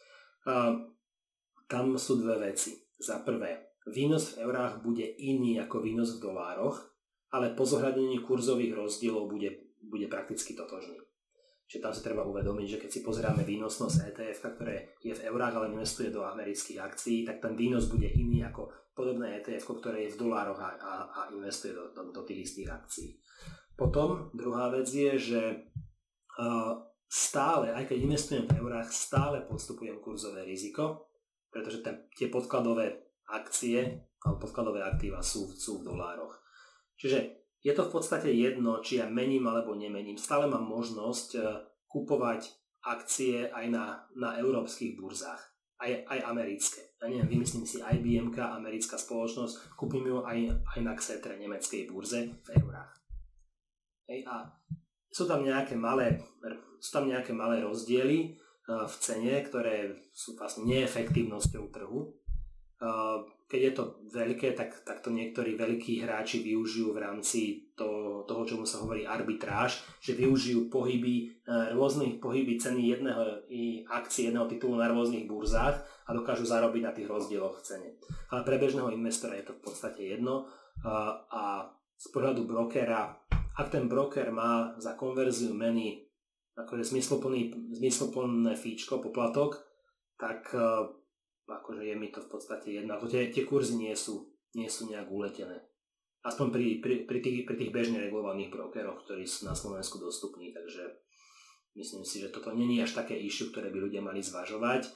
Tam sú dve veci. Za prvé, výnos v eurách bude iný ako výnos v dolároch, ale po zohľadnení kurzových rozdielov bude prakticky totožný. Čiže tam si treba uvedomiť, že keď si pozeráme výnosnosť ETF, ktoré je v eurách, ale investuje do amerických akcií, tak ten výnos bude iný ako podobné ETF, ktoré je v dolároch a investuje do tých istých akcií. Potom druhá vec je, že stále, aj keď investujem v eurách, stále podstupujem kurzové riziko, pretože tie podkladové akcie alebo podkladové aktíva sú v dolároch. Čiže je to v podstate jedno, či ja mením alebo nemením. Stále mám možnosť kupovať akcie aj na európskych burzách, aj americké. Ja neviem, vymyslím si IBM, americká spoločnosť, kúpim ju aj na Xetre, nemeckej burze v eurách. A sú tam nejaké malé rozdiely v cene, ktoré sú vlastne neefektívnosťou trhu. Keď je to veľké, tak to niektorí veľkí hráči využijú v rámci toho, čomu sa hovorí arbitráž, že využijú rôznych pohyby ceny akcie jedného titulu na rôznych burzách a dokážu zarobiť na tých rozdieloch v cene. Ale pre bežného investora je to v podstate jedno a z pohľadu brokera, ak ten broker má za konverziu meny akože zmysluplné fíčko, poplatok, tak akože je mi to v podstate jedno. Ako tie kurzy nie sú nejak uletené. Aspoň pri tých bežne regulovaných brokeroch, ktorí sú na Slovensku dostupní. Takže myslím si, že toto nie je až také issue, ktoré by ľudia mali zvažovať.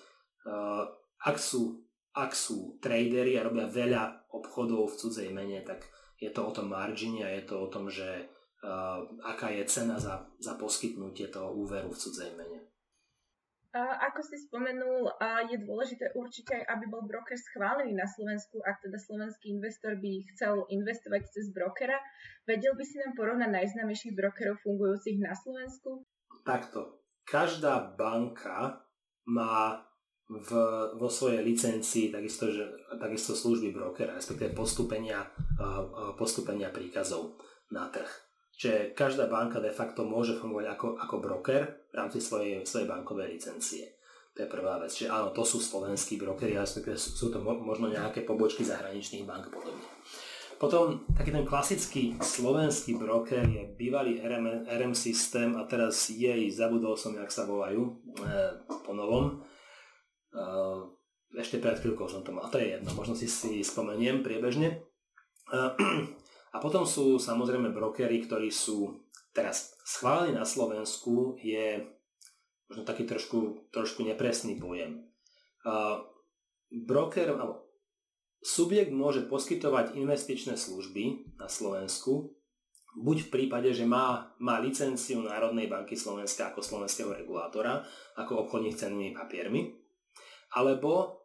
Ak sú tradery a robia veľa obchodov v cudzej mene, tak je to o tom margine a je to o tom, že aká je cena za poskytnutie toho úveru v cudzej mene. Ako si spomenul, je dôležité určite, aby bol broker schválený na Slovensku, ak teda slovenský investor by chcel investovať cez brokera. Vedel by si nám porovnať najznámejších brokerov fungujúcich na Slovensku? Takto. Každá banka má vo svojej licencii takisto služby brokera, respektíve postúpenia príkazov na trh. Čiže každá banka de facto môže fungovať ako broker v rámci svojej bankovej licencie. To je prvá vec. Čiže áno, to sú slovenskí brokeri, ale sú to možno nejaké pobočky zahraničných bank podobne. Potom taký ten klasický slovenský broker je bývalý RM systém a teraz zabudol som, jak sa volajú po novom. Ešte pred chvíľkou som to mal, to je jedno, možno si spomeniem priebežne. A potom sú samozrejme brokery, ktorí sú teraz schválení na Slovensku, je možno taký trošku nepresný pojem. Subjekt môže poskytovať investičné služby na Slovensku, buď v prípade, že má licenciu Národnej banky Slovenska ako slovenského regulátora, ako obchodník s cennými papiermi, alebo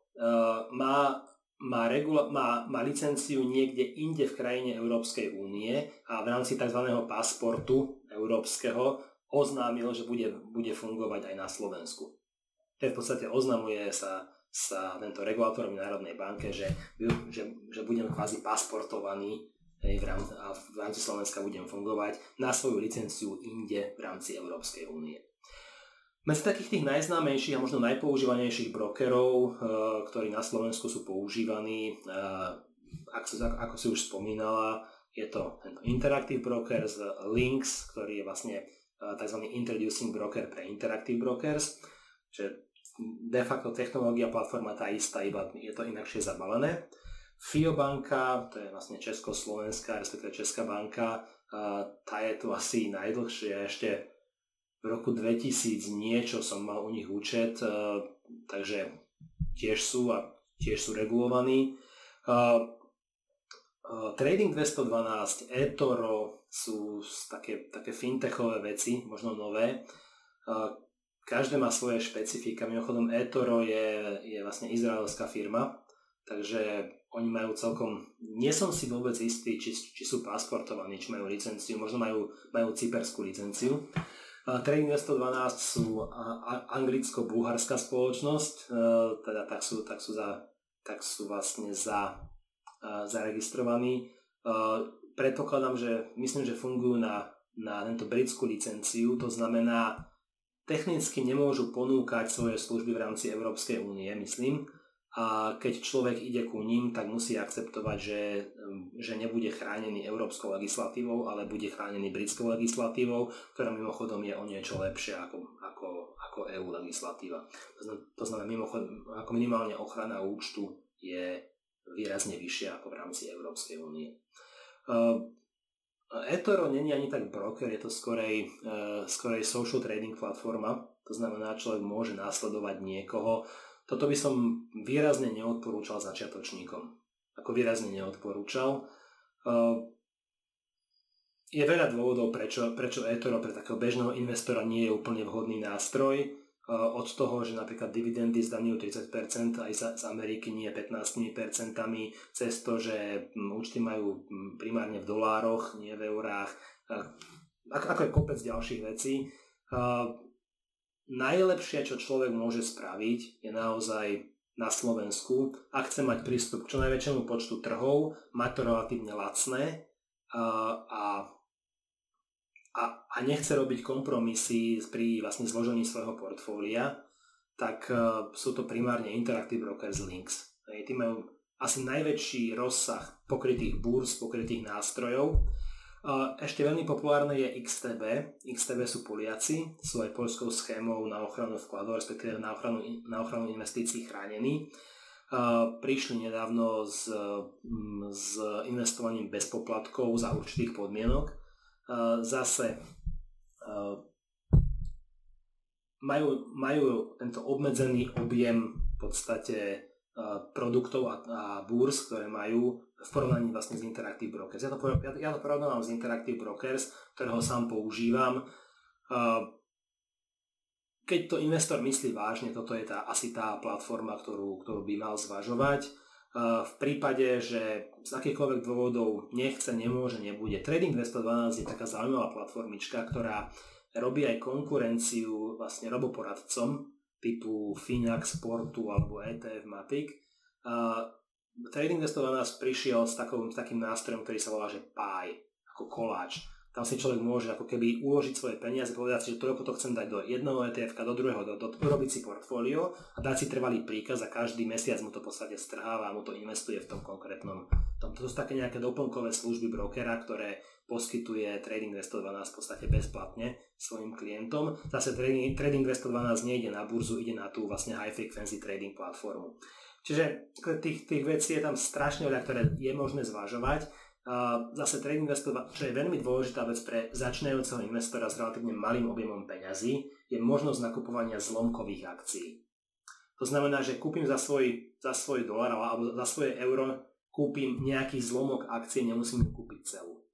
má licenciu niekde inde v krajine Európskej únie a v rámci tzv. Pasportu európskeho oznámil, že bude fungovať aj na Slovensku. To v podstate oznamuje sa tento regulátor v Národnej banke, že budem kvázi pasportovaný a v rámci Slovenska budem fungovať na svoju licenciu inde v rámci Európskej únie. Medzi takých tých najznámejších a možno najpoužívanejších brokerov, ktorí na Slovensku sú používaní, ako si už spomínala, je to Interactive Brokers, Lynx, ktorý je vlastne tzv. Introducing Broker pre Interactive Brokers, čiže de facto technológia, platforma tá istá, iba je to inakšie zabalené. FIO banka, to je vlastne československá, respektíve Česká banka, tá je tu asi najdlhšie, ešte v roku 2000 niečo som mal u nich účet, takže tiež sú regulovaní. Trading 212, eToro sú také fintechové veci, možno nové. Každé má svoje špecifika. Mimochodom eToro je vlastne izraelská firma, takže oni majú celkom, nie som si vôbec istý, či sú pasportovaní, či majú licenciu, možno majú cyperskú licenciu. Trading 212 sú anglicko-bulharská spoločnosť, teda tak sú vlastne zaregistrovaní. Predpokladám, myslím, že fungujú na tento britskú licenciu, to znamená, technicky nemôžu ponúkať svoje služby v rámci Európskej únie, myslím, a keď človek ide ku ním, tak musí akceptovať, že nebude chránený európskou legislatívou, ale bude chránený britskou legislatívou, ktorá mimochodom je o niečo lepšia ako EU legislatíva. To znamená, ako minimálne ochrana účtu je výrazne vyššia ako v rámci Európskej únie. eToro není ani tak broker, je to skorej social trading platforma. To znamená, človek môže následovať niekoho. Toto by som výrazne neodporúčal začiatočníkom. Ako výrazne neodporúčal. Je veľa dôvodov, prečo eToro pre takého bežného investora nie je úplne vhodný nástroj. Od toho, že napríklad dividendy zdaňujú 30%, aj z Ameriky nie 15%, cez to, že účty majú primárne v dolároch, nie v eurách, ako je kopec ďalších vecí. Najlepšie, čo človek môže spraviť, je naozaj na Slovensku, ak chce mať prístup k čo najväčšiemu počtu trhov, mať to relatívne lacné a nechce robiť kompromisy pri vlastne zložení svojho portfólia, tak sú to primárne Interactive Brokers Links. Tí majú asi najväčší rozsah pokrytých búrs, pokrytých nástrojov. Ešte veľmi populárne je XTB. XTB sú Poliaci, sú aj poľskou schémou na ochranu vkladov, respektíve na ochranu investícií chránení. Prišli nedávno s investovaním bez poplatkov za určitých podmienok. Zase majú tento obmedzený objem v podstate produktov a búrs, ktoré majú v porovnaní vlastne s Interactive Brokers. Ja to porovnávam s Interactive Brokers, ktorého sám používam. Keď to investor myslí vážne, toto je asi tá platforma, ktorú by mal zvažovať. V prípade, že z akýchkoľvek dôvodov nechce, nemôže, nebude. Trading 212 je taká zaujímavá platformička, ktorá robí aj konkurenciu vlastne roboporadcom typu Finax, Sportu alebo ETF Matic. Trading 212 prišiel s takým nástrojom, ktorý sa volá, že Pie, ako koláč. Tam si človek môže ako keby uložiť svoje peniaze, povedať si, že toľko to chcem dať do jedného ETF-ka, do druhého, urobiť si portfólio a dať si trvalý príkaz a každý mesiac mu to v podstate strháva a mu to investuje v tom konkrétnom. To sú také nejaké doplnkové služby brokera, ktoré poskytuje Trading 212 v podstate bezplatne svojim klientom. Zase Trading 212 nejde na burzu, ide na tú vlastne high frequency trading platformu. Čiže tých vecí je tam strašne veľa, ktoré je možné zvažovať. Zase Trading 212, čo je veľmi dôležitá vec pre začínajúceho investora s relatívne malým objemom peňazí, je možnosť nakupovania zlomkových akcií. To znamená, že kúpim za svoj dolár alebo za svoje euro kúpim nejaký zlomok akcie, nemusím ju kúpiť celú.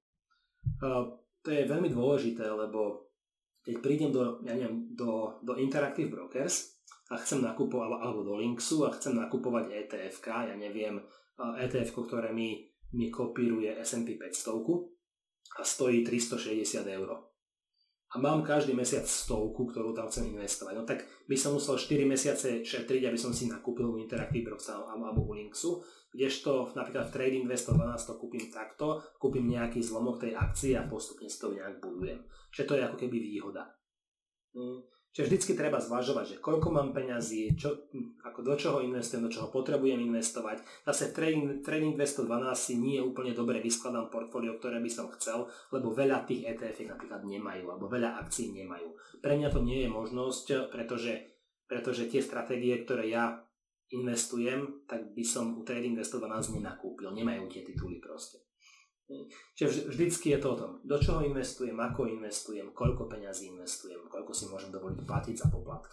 To je veľmi dôležité, lebo keď prídem do Interactive Brokers a chcem nakupovať, alebo do Linksu a chcem nakupovať ETF-ka, ETF-ko, ktoré mi kopíruje S&P 500 a stojí 360 €. A mám každý mesiac 100, ktorú tam chcem investovať. No tak by som musel 4 mesiace šetriť, aby som si nakúpil u Interactive Brokers alebo u Linksu, kdežto napríklad v Trading 212 to kúpim takto, kúpim nejaký zlomok tej akcie a postupne si to nejak budujem. Čiže to je ako keby výhoda. Čiže vždycky treba zvažovať, že koľko mám peňazí, do čoho investujem, do čoho potrebujem investovať. Zase Trading 212 si nie úplne dobre vyskladám portfólio, ktoré by som chcel, lebo veľa tých ETF napríklad nemajú, alebo veľa akcií nemajú. Pre mňa to nie je možnosť, pretože tie stratégie, ktoré ja investujem, tak by som u Trading 212 nenakúpil, nemajú tie tituly proste. Čiže vždycky je to o tom, do čoho investujem, ako investujem, koľko peňazí investujem, koľko si môžem dovoliť platiť za poplatky.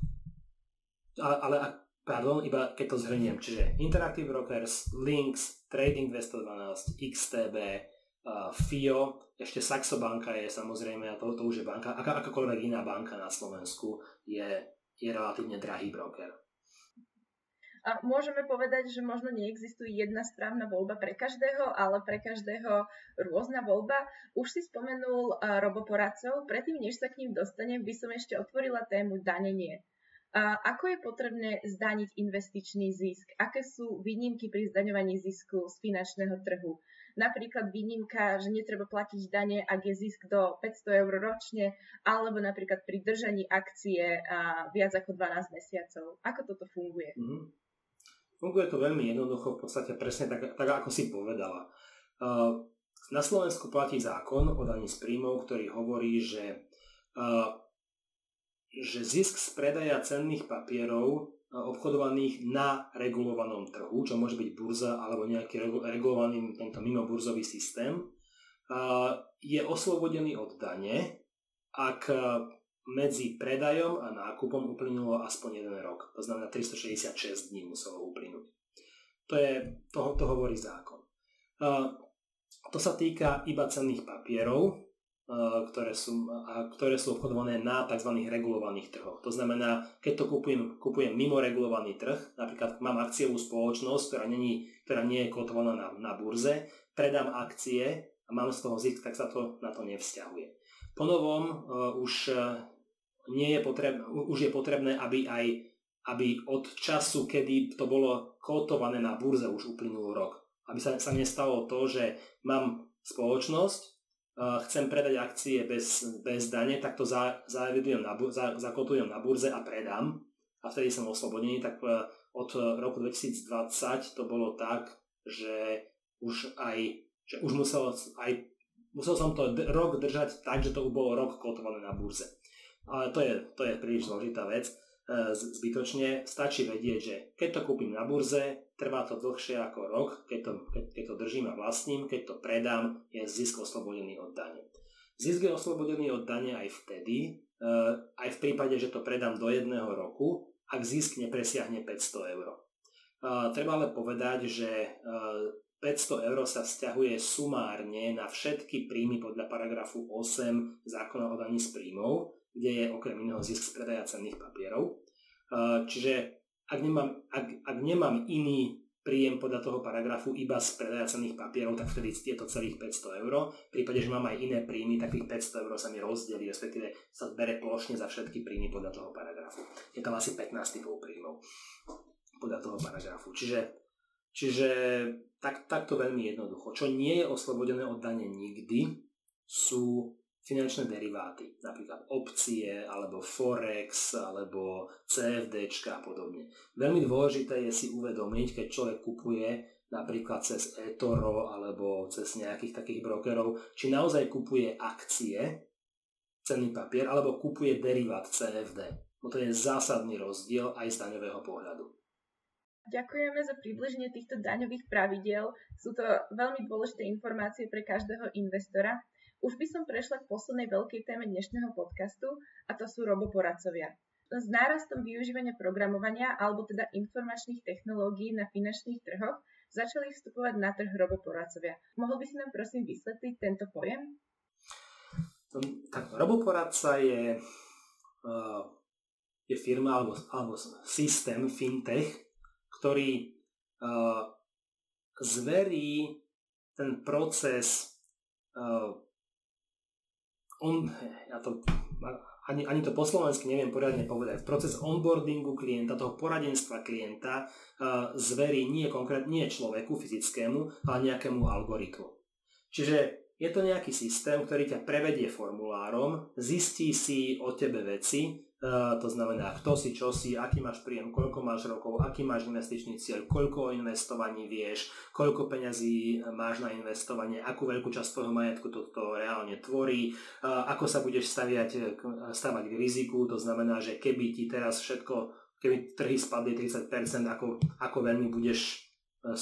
Iba keď to zhrniem, čiže Interactive Brokers, Links, Trading 212, XTB, FIO, ešte Saxo banka je samozrejme, a to už je banka, akákoľvek iná banka na Slovensku je relatívne drahý broker. A môžeme povedať, že možno neexistuje jedna správna voľba pre každého, ale pre každého rôzna voľba. Už si spomenul roboporadcov, predtým, než sa k ním dostanem, by som ešte otvorila tému danenie. Ako je potrebné zdaniť investičný zisk? Aké sú výnimky pri zdaňovaní zisku z finančného trhu? Napríklad výnimka, že netreba platiť dane, ak je zisk do 500 € ročne, alebo napríklad pri držaní akcie viac ako 12 mesiacov. Ako toto funguje? Funguje to veľmi jednoducho, v podstate presne tak ako si povedala. Na Slovensku platí zákon o daní z príjmov, ktorý hovorí, že zisk z predaja cenných papierov obchodovaných na regulovanom trhu, čo môže byť burza alebo nejaký regulovaný tento mimoburzový systém, je oslobodený od dane, ak medzi predajom a nákupom uplynulo aspoň 1 rok. To znamená 366 dní muselo uplynúť. To hovorí zákon. To sa týka iba cenných papierov, ktoré sú obchodované na tzv. Regulovaných trhoch. To znamená, keď to kupujem mimo regulovaný trh, napríklad mám akciovú spoločnosť, ktorá nie je kotovaná na burze, predám akcie a mám z toho zisk, tak sa to na to nevzťahuje. Po novom už je potrebné, aby od času, kedy to bolo kotované na burze, už uplynul rok. Aby sa nestalo to, že mám spoločnosť, chcem predať akcie bez dane, tak to zakotujem na burze a predám a vtedy som oslobodený. Tak od roku 2020 to bolo tak, že musel som to rok držať tak, že to bolo rok kotované na burze. Ale to je príliš zložitá vec. Zbytočne stačí vedieť, že keď to kúpim na burze, trvá to dlhšie ako rok, keď to držím a vlastním, keď to predám, je zisk oslobodený od dane. Zisk je oslobodený od dane aj vtedy, aj v prípade, že to predám do 1 roku, ak zisk nepresiahne 500 eur. Treba ale povedať, že 500 eur sa vzťahuje sumárne na všetky príjmy podľa paragrafu 8 zákona o daní z príjmov, kde je okrem iného zisk z predaja cenných papierov. Čiže ak nemám iný príjem podľa toho paragrafu iba z predaja cenných papierov, tak vtedy je to celých 500 eur. V prípade, že mám aj iné príjmy, tak tých 500 eur sa mi rozdelí, respektíve sa bere plošne za všetky príjmy podľa toho paragrafu. Je tam asi 15 typov príjmov podľa toho paragrafu. Čiže takto veľmi jednoducho. Čo nie je oslobodené od dane nikdy, sú finančné deriváty, napríklad opcie, alebo forex, alebo CFDčka a podobne. Veľmi dôležité je si uvedomiť, keď človek kupuje napríklad cez eToro alebo cez nejakých takých brokerov, či naozaj kupuje akcie, cenný papier, alebo kupuje derivát CFD. To je zásadný rozdiel aj z daňového pohľadu. Ďakujeme za približenie týchto daňových pravidiel. Sú to veľmi dôležité informácie pre každého investora. Už by som prešla k poslednej veľkej téme dnešného podcastu, a to sú roboporadcovia. S nárastom využívania programovania alebo teda informačných technológií na finančných trhoch začali vstupovať na trh roboporadcovia. Mohol by si nám prosím vysvetliť tento pojem? Tak roboporadca je firma alebo systém fintech, ktorý zverí ten proces ani to po slovensky neviem poriadne povedať. Proces onboardingu klienta, toho poradenstva klienta zverí nie človeku fyzickému, ale nejakému algoritmu. Čiže je to nejaký systém, ktorý ťa prevedie formulárom, zistí si o tebe veci, to znamená, kto si, čo si, aký máš príjem, koľko máš rokov, aký máš investičný cieľ, koľko o investovaní vieš, koľko peňazí máš na investovanie, akú veľkú časť tvojho majetku toto reálne tvorí, ako sa budeš stavať k riziku, to znamená, že keby ti teraz keby trhy spadli 30%, ako veľmi budeš z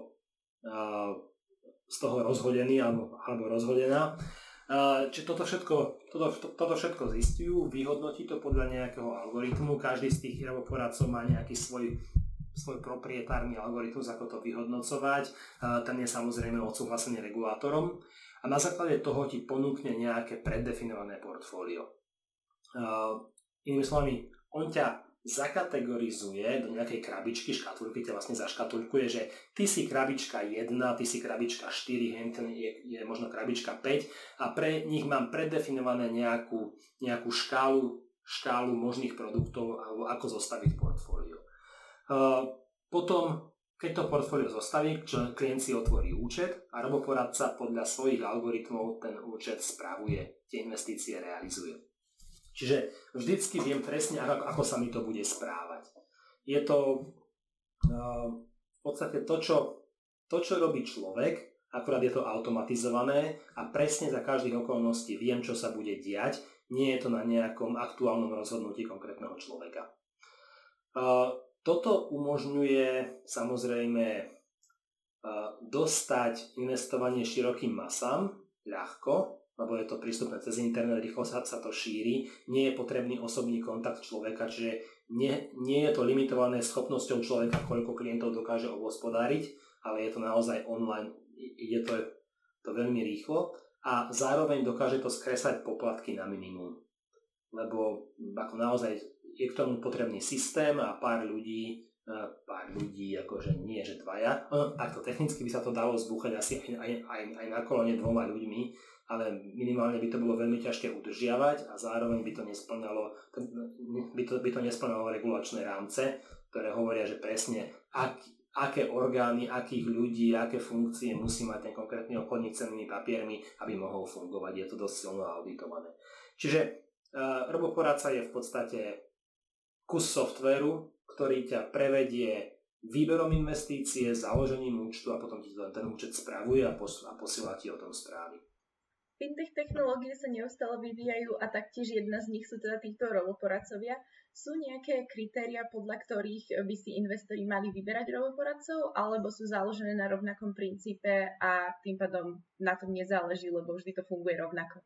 toho rozhodený alebo rozhodená. Čiže toto všetko zistujú, vyhodnotí to podľa nejakého algoritmu. Každý z tých roboporadcov má nejaký svoj proprietárny algoritmus, ako to vyhodnocovať. Ten je samozrejme odsúhlasený regulátorom a na základe toho ti ponúkne nejaké preddefinované portfólio. Inými slovami, on ťa zakategorizuje do nejakej krabičky, škatulky ťa vlastne zaškatulkuje, že ty si krabička 1, ty si krabička 4, henten je možno krabička 5 a pre nich mám predefinované nejakú škálu možných produktov alebo ako zostaviť portfólio. Potom, keď to portfólio zostaví, klient si otvorí účet a roboporadca podľa svojich algoritmov ten účet spravuje, tie investície realizuje. Čiže vždycky viem presne, ako sa mi to bude správať. Je to v podstate to, čo robí človek, akurát je to automatizované a presne za každých okolností viem, čo sa bude diať. Nie je to na nejakom aktuálnom rozhodnutí konkrétneho človeka. Toto umožňuje samozrejme dostať investovanie širokým masám, ľahko, lebo je to prístupné cez internet, rýchlo sa to šíri, nie je potrebný osobný kontakt človeka, čiže nie je to limitované schopnosťou človeka, koľko klientov dokáže obhospodáriť, ale je to naozaj online, ide to veľmi rýchlo a zároveň dokáže to skresať poplatky na minimum, lebo ako naozaj je k tomu potrebný systém a pár ľudí, akože nie, že dvaja, takto technicky by sa to dalo zbúchať asi aj na kolone 2 ľuďmi, ale minimálne by to bolo veľmi ťažké udržiavať a zároveň by to nesplňalo regulačné rámce, ktoré hovoria, že presne aké orgány, akých ľudí, aké funkcie musí mať ten konkrétny obchodník cennými papiermi, aby mohol fungovať. Je to dosť silno auditované. Čiže roboporadca je v podstate kus softvéru, ktorý ťa prevedie výberom investície, založením účtu a potom ti ten účet spravuje a posiela ti o tom správy. Fintech technológie sa neustále vyvíjajú a taktiež jedna z nich sú teda týchto roboporadcovia. Sú nejaké kritéria, podľa ktorých by si investori mali vyberať roboporadcov, alebo sú založené na rovnakom princípe a tým pádom na tom nezáleží, lebo vždy to funguje rovnako?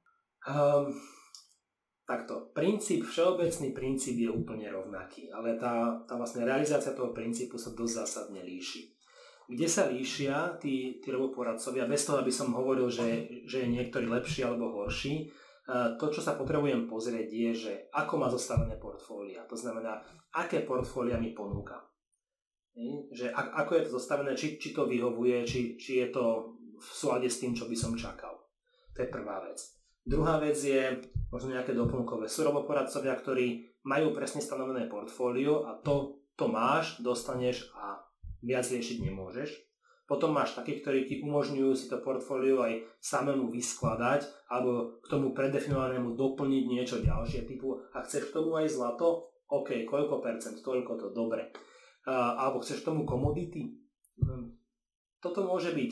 Takto, všeobecný princíp je úplne rovnaký, ale tá vlastne realizácia toho princípu sa dosť zásadne líši. Kde sa líšia tí roboporadcovia, bez toho, aby som hovoril, že je niektorý lepší alebo horší, to, čo sa potrebujem pozrieť, je, že ako má zostavené portfólia. To znamená, aké portfólia mi ponúka. Že ako je to zostavené, či to vyhovuje, či je to v súlade s tým, čo by som čakal. To je prvá vec. Druhá vec je možno nejaké doplnkové. Sú roboporadcovia, ktorí majú presne stanovené portfólio a to máš, dostaneš a viac riešiť nemôžeš. Potom máš takých, ktorí ti umožňujú si to portfólio aj samému vyskladať alebo k tomu predefinovanému doplniť niečo ďalšie typu a chceš k tomu aj zlato? OK, koľko percent, toľko to, dobre. Alebo chceš k tomu komodity? Toto môže byť.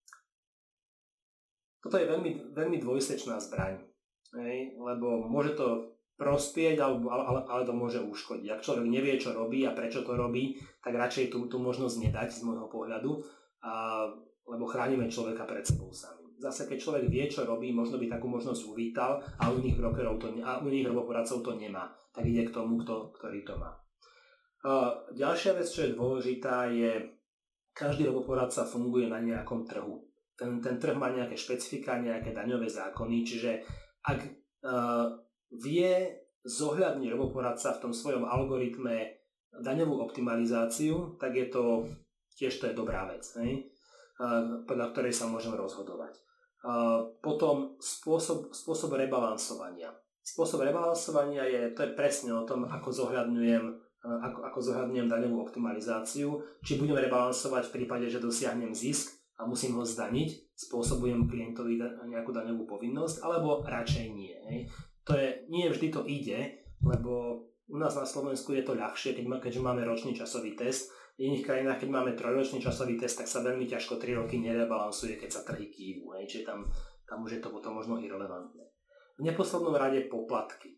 Toto je veľmi, veľmi dvojsečná zbraň, lebo môže to prospieť, ale to môže uškodiť. Ak človek nevie, čo robí a prečo to robí, tak radšej tú možnosť nedať z môjho pohľadu, lebo chránime človeka pred sebou sami. Zase, keď človek vie, čo robí, možno by takú možnosť uvítal a u iných brokerov u iných roboporadcov to nemá. Tak ide k tomu, ktorý to má. Ďalšia vec, čo je dôležitá, je, každý roboporadca funguje na nejakom trhu. Ten trh má nejaké špecifika, nejaké daňové zákony, čiže ak vie zohľadniť roboporadca v tom svojom algoritme daňovú optimalizáciu, tak je to tiež dobrá vec, podľa ktorej sa môžem rozhodovať. Potom spôsob rebalansovania. Spôsob rebalansovania to je presne o tom, ako zohľadňujem daňovú optimalizáciu, či budem rebalansovať v prípade, že dosiahnem zisk a musím ho zdaniť, spôsobujem klientovi nejakú daňovú povinnosť, alebo radšej nie. Nie vždy to ide, lebo u nás na Slovensku je to ľahšie, keďže máme ročný časový test. V iných krajinách, keď máme 3-ročný časový test, tak sa veľmi ťažko 3 roky nerebalansuje, keď sa trhy kývu. Čiže tam už je to potom možno irelevantné. V neposlednom rade poplatky.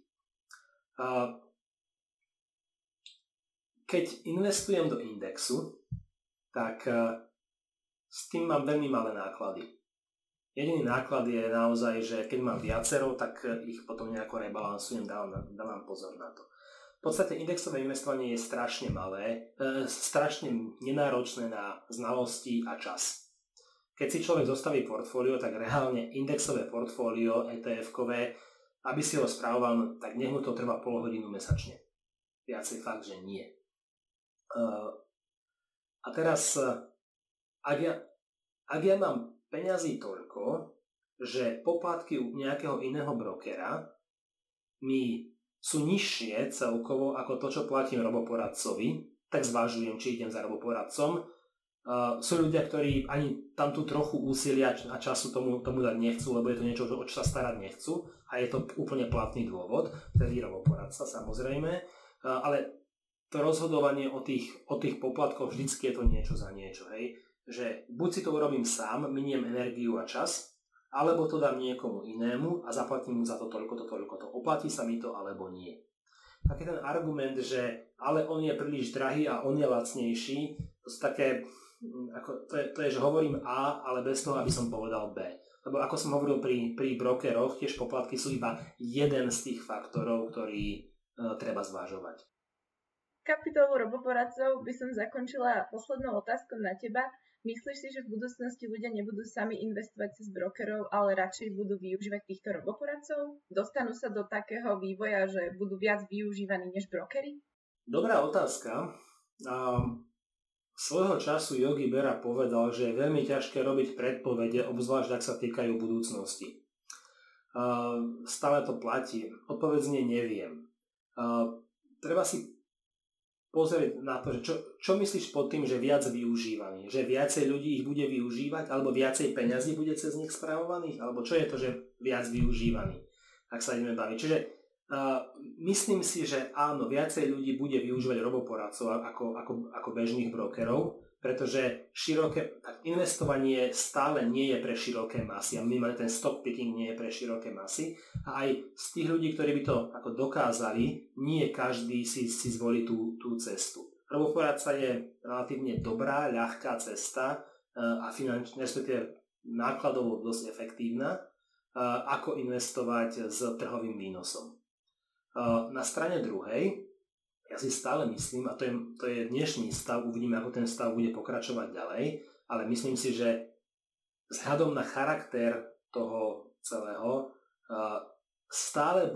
Keď investujem do indexu, tak s tým mám veľmi malé náklady. Jediný náklad je naozaj, že keď mám viacero, tak ich potom nejako rebalansujem, dávam pozor na to. V podstate indexové investovanie je strašne malé, strašne nenáročné na znalosti a čas. Keď si človek zostaví portfólio, tak reálne indexové portfólio ETF-kové, aby si ho spravoval, tak nech mu to trvá pol hodinu mesačne. Viacej fakt, že nie. A teraz, ak ja mám peňazí toľko, že poplatky u nejakého iného brokera mi sú nižšie celkovo ako to, čo platím roboporadcovi, tak zvažujem, či idem za roboporadcom. Sú ľudia, ktorí ani tam tú trochu úsilia a času tomu dať nechcú, lebo je to niečo, o čo sa starať nechcú a je to úplne platný dôvod, tedy roboporadca samozrejme, ale to rozhodovanie o tých poplatkoch vždycky je to niečo za niečo, hej. Že buď si to urobím sám, miniem energiu a čas, alebo to dám niekomu inému a zaplatím mu za to toľko, oplatí sa mi to alebo nie. Taký ten argument, že ale on je príliš drahý a on je lacnejší, to sú také, to je, že hovorím A, ale bez toho, aby som povedal B. Lebo ako som hovoril pri brokeroch, tiež poplatky sú iba jeden z tých faktorov, ktorý treba zvažovať. Kapitolu roboporadcov by som zakončila poslednou otázkou na teba. Myslíš si, že v budúcnosti ľudia nebudú sami investovať cez brokerov, ale radšej budú využívať týchto roboporadcov? Dostanú sa do takého vývoja, že budú viac využívaní než brokery? Dobrá otázka. Svojho času Yogi Berra povedal, že je veľmi ťažké robiť predpovede, obzvlášť ak sa týkajú budúcnosti. Stále to platí. Odpoveď znie neviem. Treba si pozrieť na to, že čo myslíš pod tým, že viac využívaný? Že viacej ľudí ich bude využívať, alebo viacej peňazí bude cez nich spravovaných? Alebo čo je to, že viac využívaný? Ak sa ideme baviť. Čiže myslím si, že áno, viacej ľudí bude využívať roboporadcov ako bežných brokerov, pretože investovanie stále nie je pre široké masy a minimálne ten stock picking nie je pre široké masy a aj z tých ľudí, ktorí by to ako dokázali, nie každý si zvolí tú cestu. Roboporadca je relatívne dobrá, ľahká cesta a finančne, respektíve nákladovo dosť efektívna, ako investovať s trhovým výnosom. Na strane druhej, ja si stále myslím, a to je dnešný stav, uvidíme, ako ten stav bude pokračovať ďalej, ale myslím si, že vzhľadom na charakter toho celého stále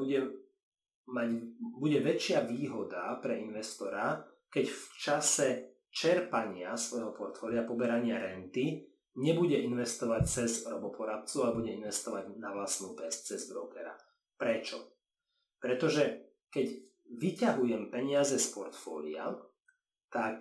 bude väčšia výhoda pre investora, keď v čase čerpania svojho portfólia, poberania renty, nebude investovať cez roboporadcu, ale bude investovať na vlastnú päsť cez brokera. Prečo? Pretože keď vyťahujem peniaze z portfólia, tak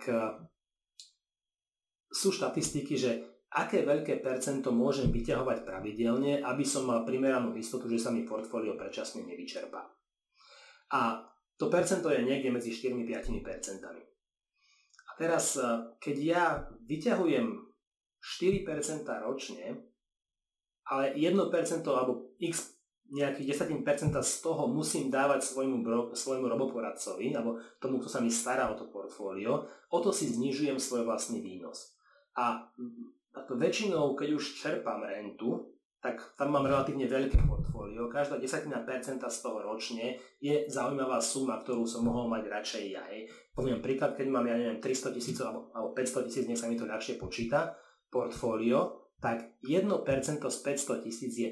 sú štatistiky, že aké veľké percento môžem vyťahovať pravidelne, aby som mal primeranú istotu, že sa mi portfólio predčasne nevyčerpá. A to percento je niekde medzi 4-5%. A teraz, keď ja vyťahujem 4% ročne, ale 1% alebo x nejakých 10% z toho musím dávať svojmu roboporadcovi alebo tomu, kto sa mi stará o to portfólio, o to si znižujem svoj vlastný výnos. A väčšinou, keď už čerpám rentu, tak tam mám relatívne veľké portfólio. Každá 10% z toho ročne je zaujímavá suma, ktorú som mohol mať radšej ja. Poviem príklad, keď mám, 300 000 alebo 500 000, nech sa mi to ľahšie počíta, portfólio, tak 1% z 500 000 je 5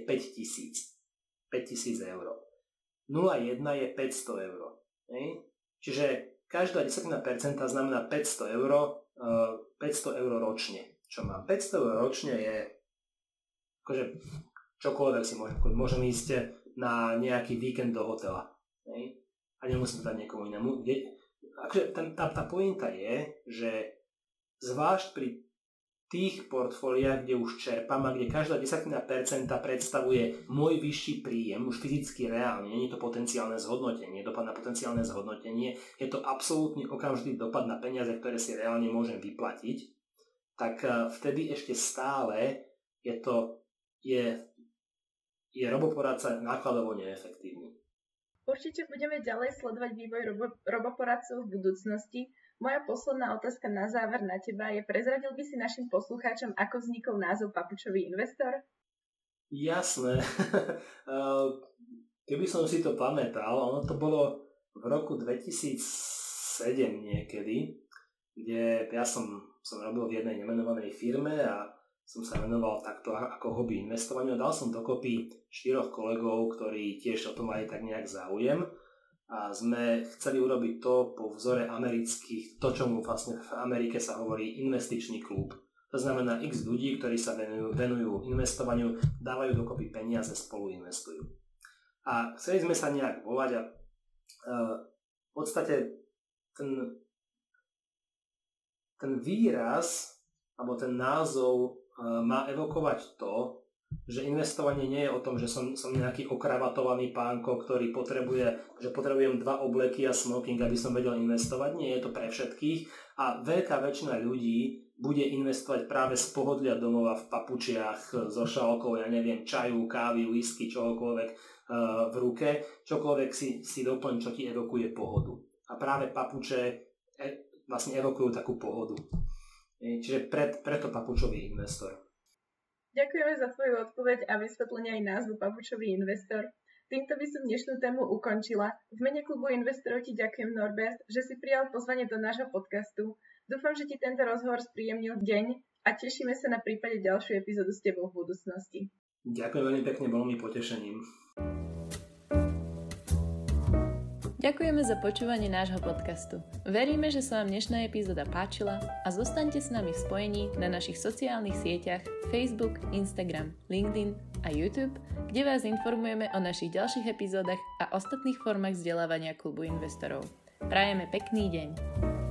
000 eur. 0,1 je 500 eur. Čiže každá 10% znamená 500 eur ročne. Čo mám? 500 eur ročne je akože čokoľvek si môžem ísť na nejaký víkend do hotela. A nemusím to dať niekomu inému. Akože tá pointa je, že zvlášť pri tých portfóliách, kde už čerpám a kde každá 10% predstavuje môj vyšší príjem, už fyzicky reálne, nie je to potenciálne zhodnotenie, dopad na potenciálne zhodnotenie, je to absolútny okamžitý dopad na peniaze, ktoré si reálne môžem vyplatiť, tak vtedy ešte stále je roboporadca nákladovo neefektívny. Určite budeme ďalej sledovať vývoj roboporadcov v budúcnosti. Moja posledná otázka na záver na teba je, prezradil by si našim poslucháčom, ako vznikol názov Papučový investor? Jasné. Keby som si to pamätal, ono to bolo v roku 2007 niekedy, kde ja som robil v jednej nemenovanej firme a som sa venoval takto ako hobby investovaniu. Dal som dokopy 4 kolegov, ktorí tiež o tom mali tak nejak záujem. A sme chceli urobiť to po vzore amerických, to čomu vlastne v Amerike sa hovorí investičný klub. To znamená x ľudí, ktorí sa venujú investovaniu, dávajú dokopy peniaze, spolu investujú. A chceli sme sa nejak volať a v podstate ten výraz alebo ten názov má evokovať to, že investovanie nie je o tom, že som nejaký okravatovaný pánko, ktorý potrebujem 2 obleky a smoking, aby som vedel investovať. Nie je to pre všetkých a veľká väčšina ľudí bude investovať práve z pohodlia domova v papučiach, so šálkou, čaju, kávy, whisky, čohokoľvek v ruke, čokoľvek si doplň, čo ti evokuje pohodu. A práve papuče vlastne evokujú takú pohodu. Čiže preto papučový investor. Ďakujeme za tvoju odpoveď a vysvetlenie aj názvu Papučový investor. Týmto by som dnešnú tému ukončila. V mene klubu investorov ti ďakujem, Norbert, že si prijal pozvanie do nášho podcastu. Dúfam, že ti tento rozhovor spríjemnil deň a tešíme sa na prípade ďalšiu epizódu s tebou v budúcnosti. Ďakujem veľmi pekne, bolo mi potešením. Ďakujeme za počúvanie nášho podcastu. Veríme, že sa vám dnešná epizóda páčila a zostaňte s nami v spojení na našich sociálnych sieťach Facebook, Instagram, LinkedIn a YouTube, kde vás informujeme o našich ďalších epizódach a ostatných formách vzdelávania klubu investorov. Prajeme pekný deň.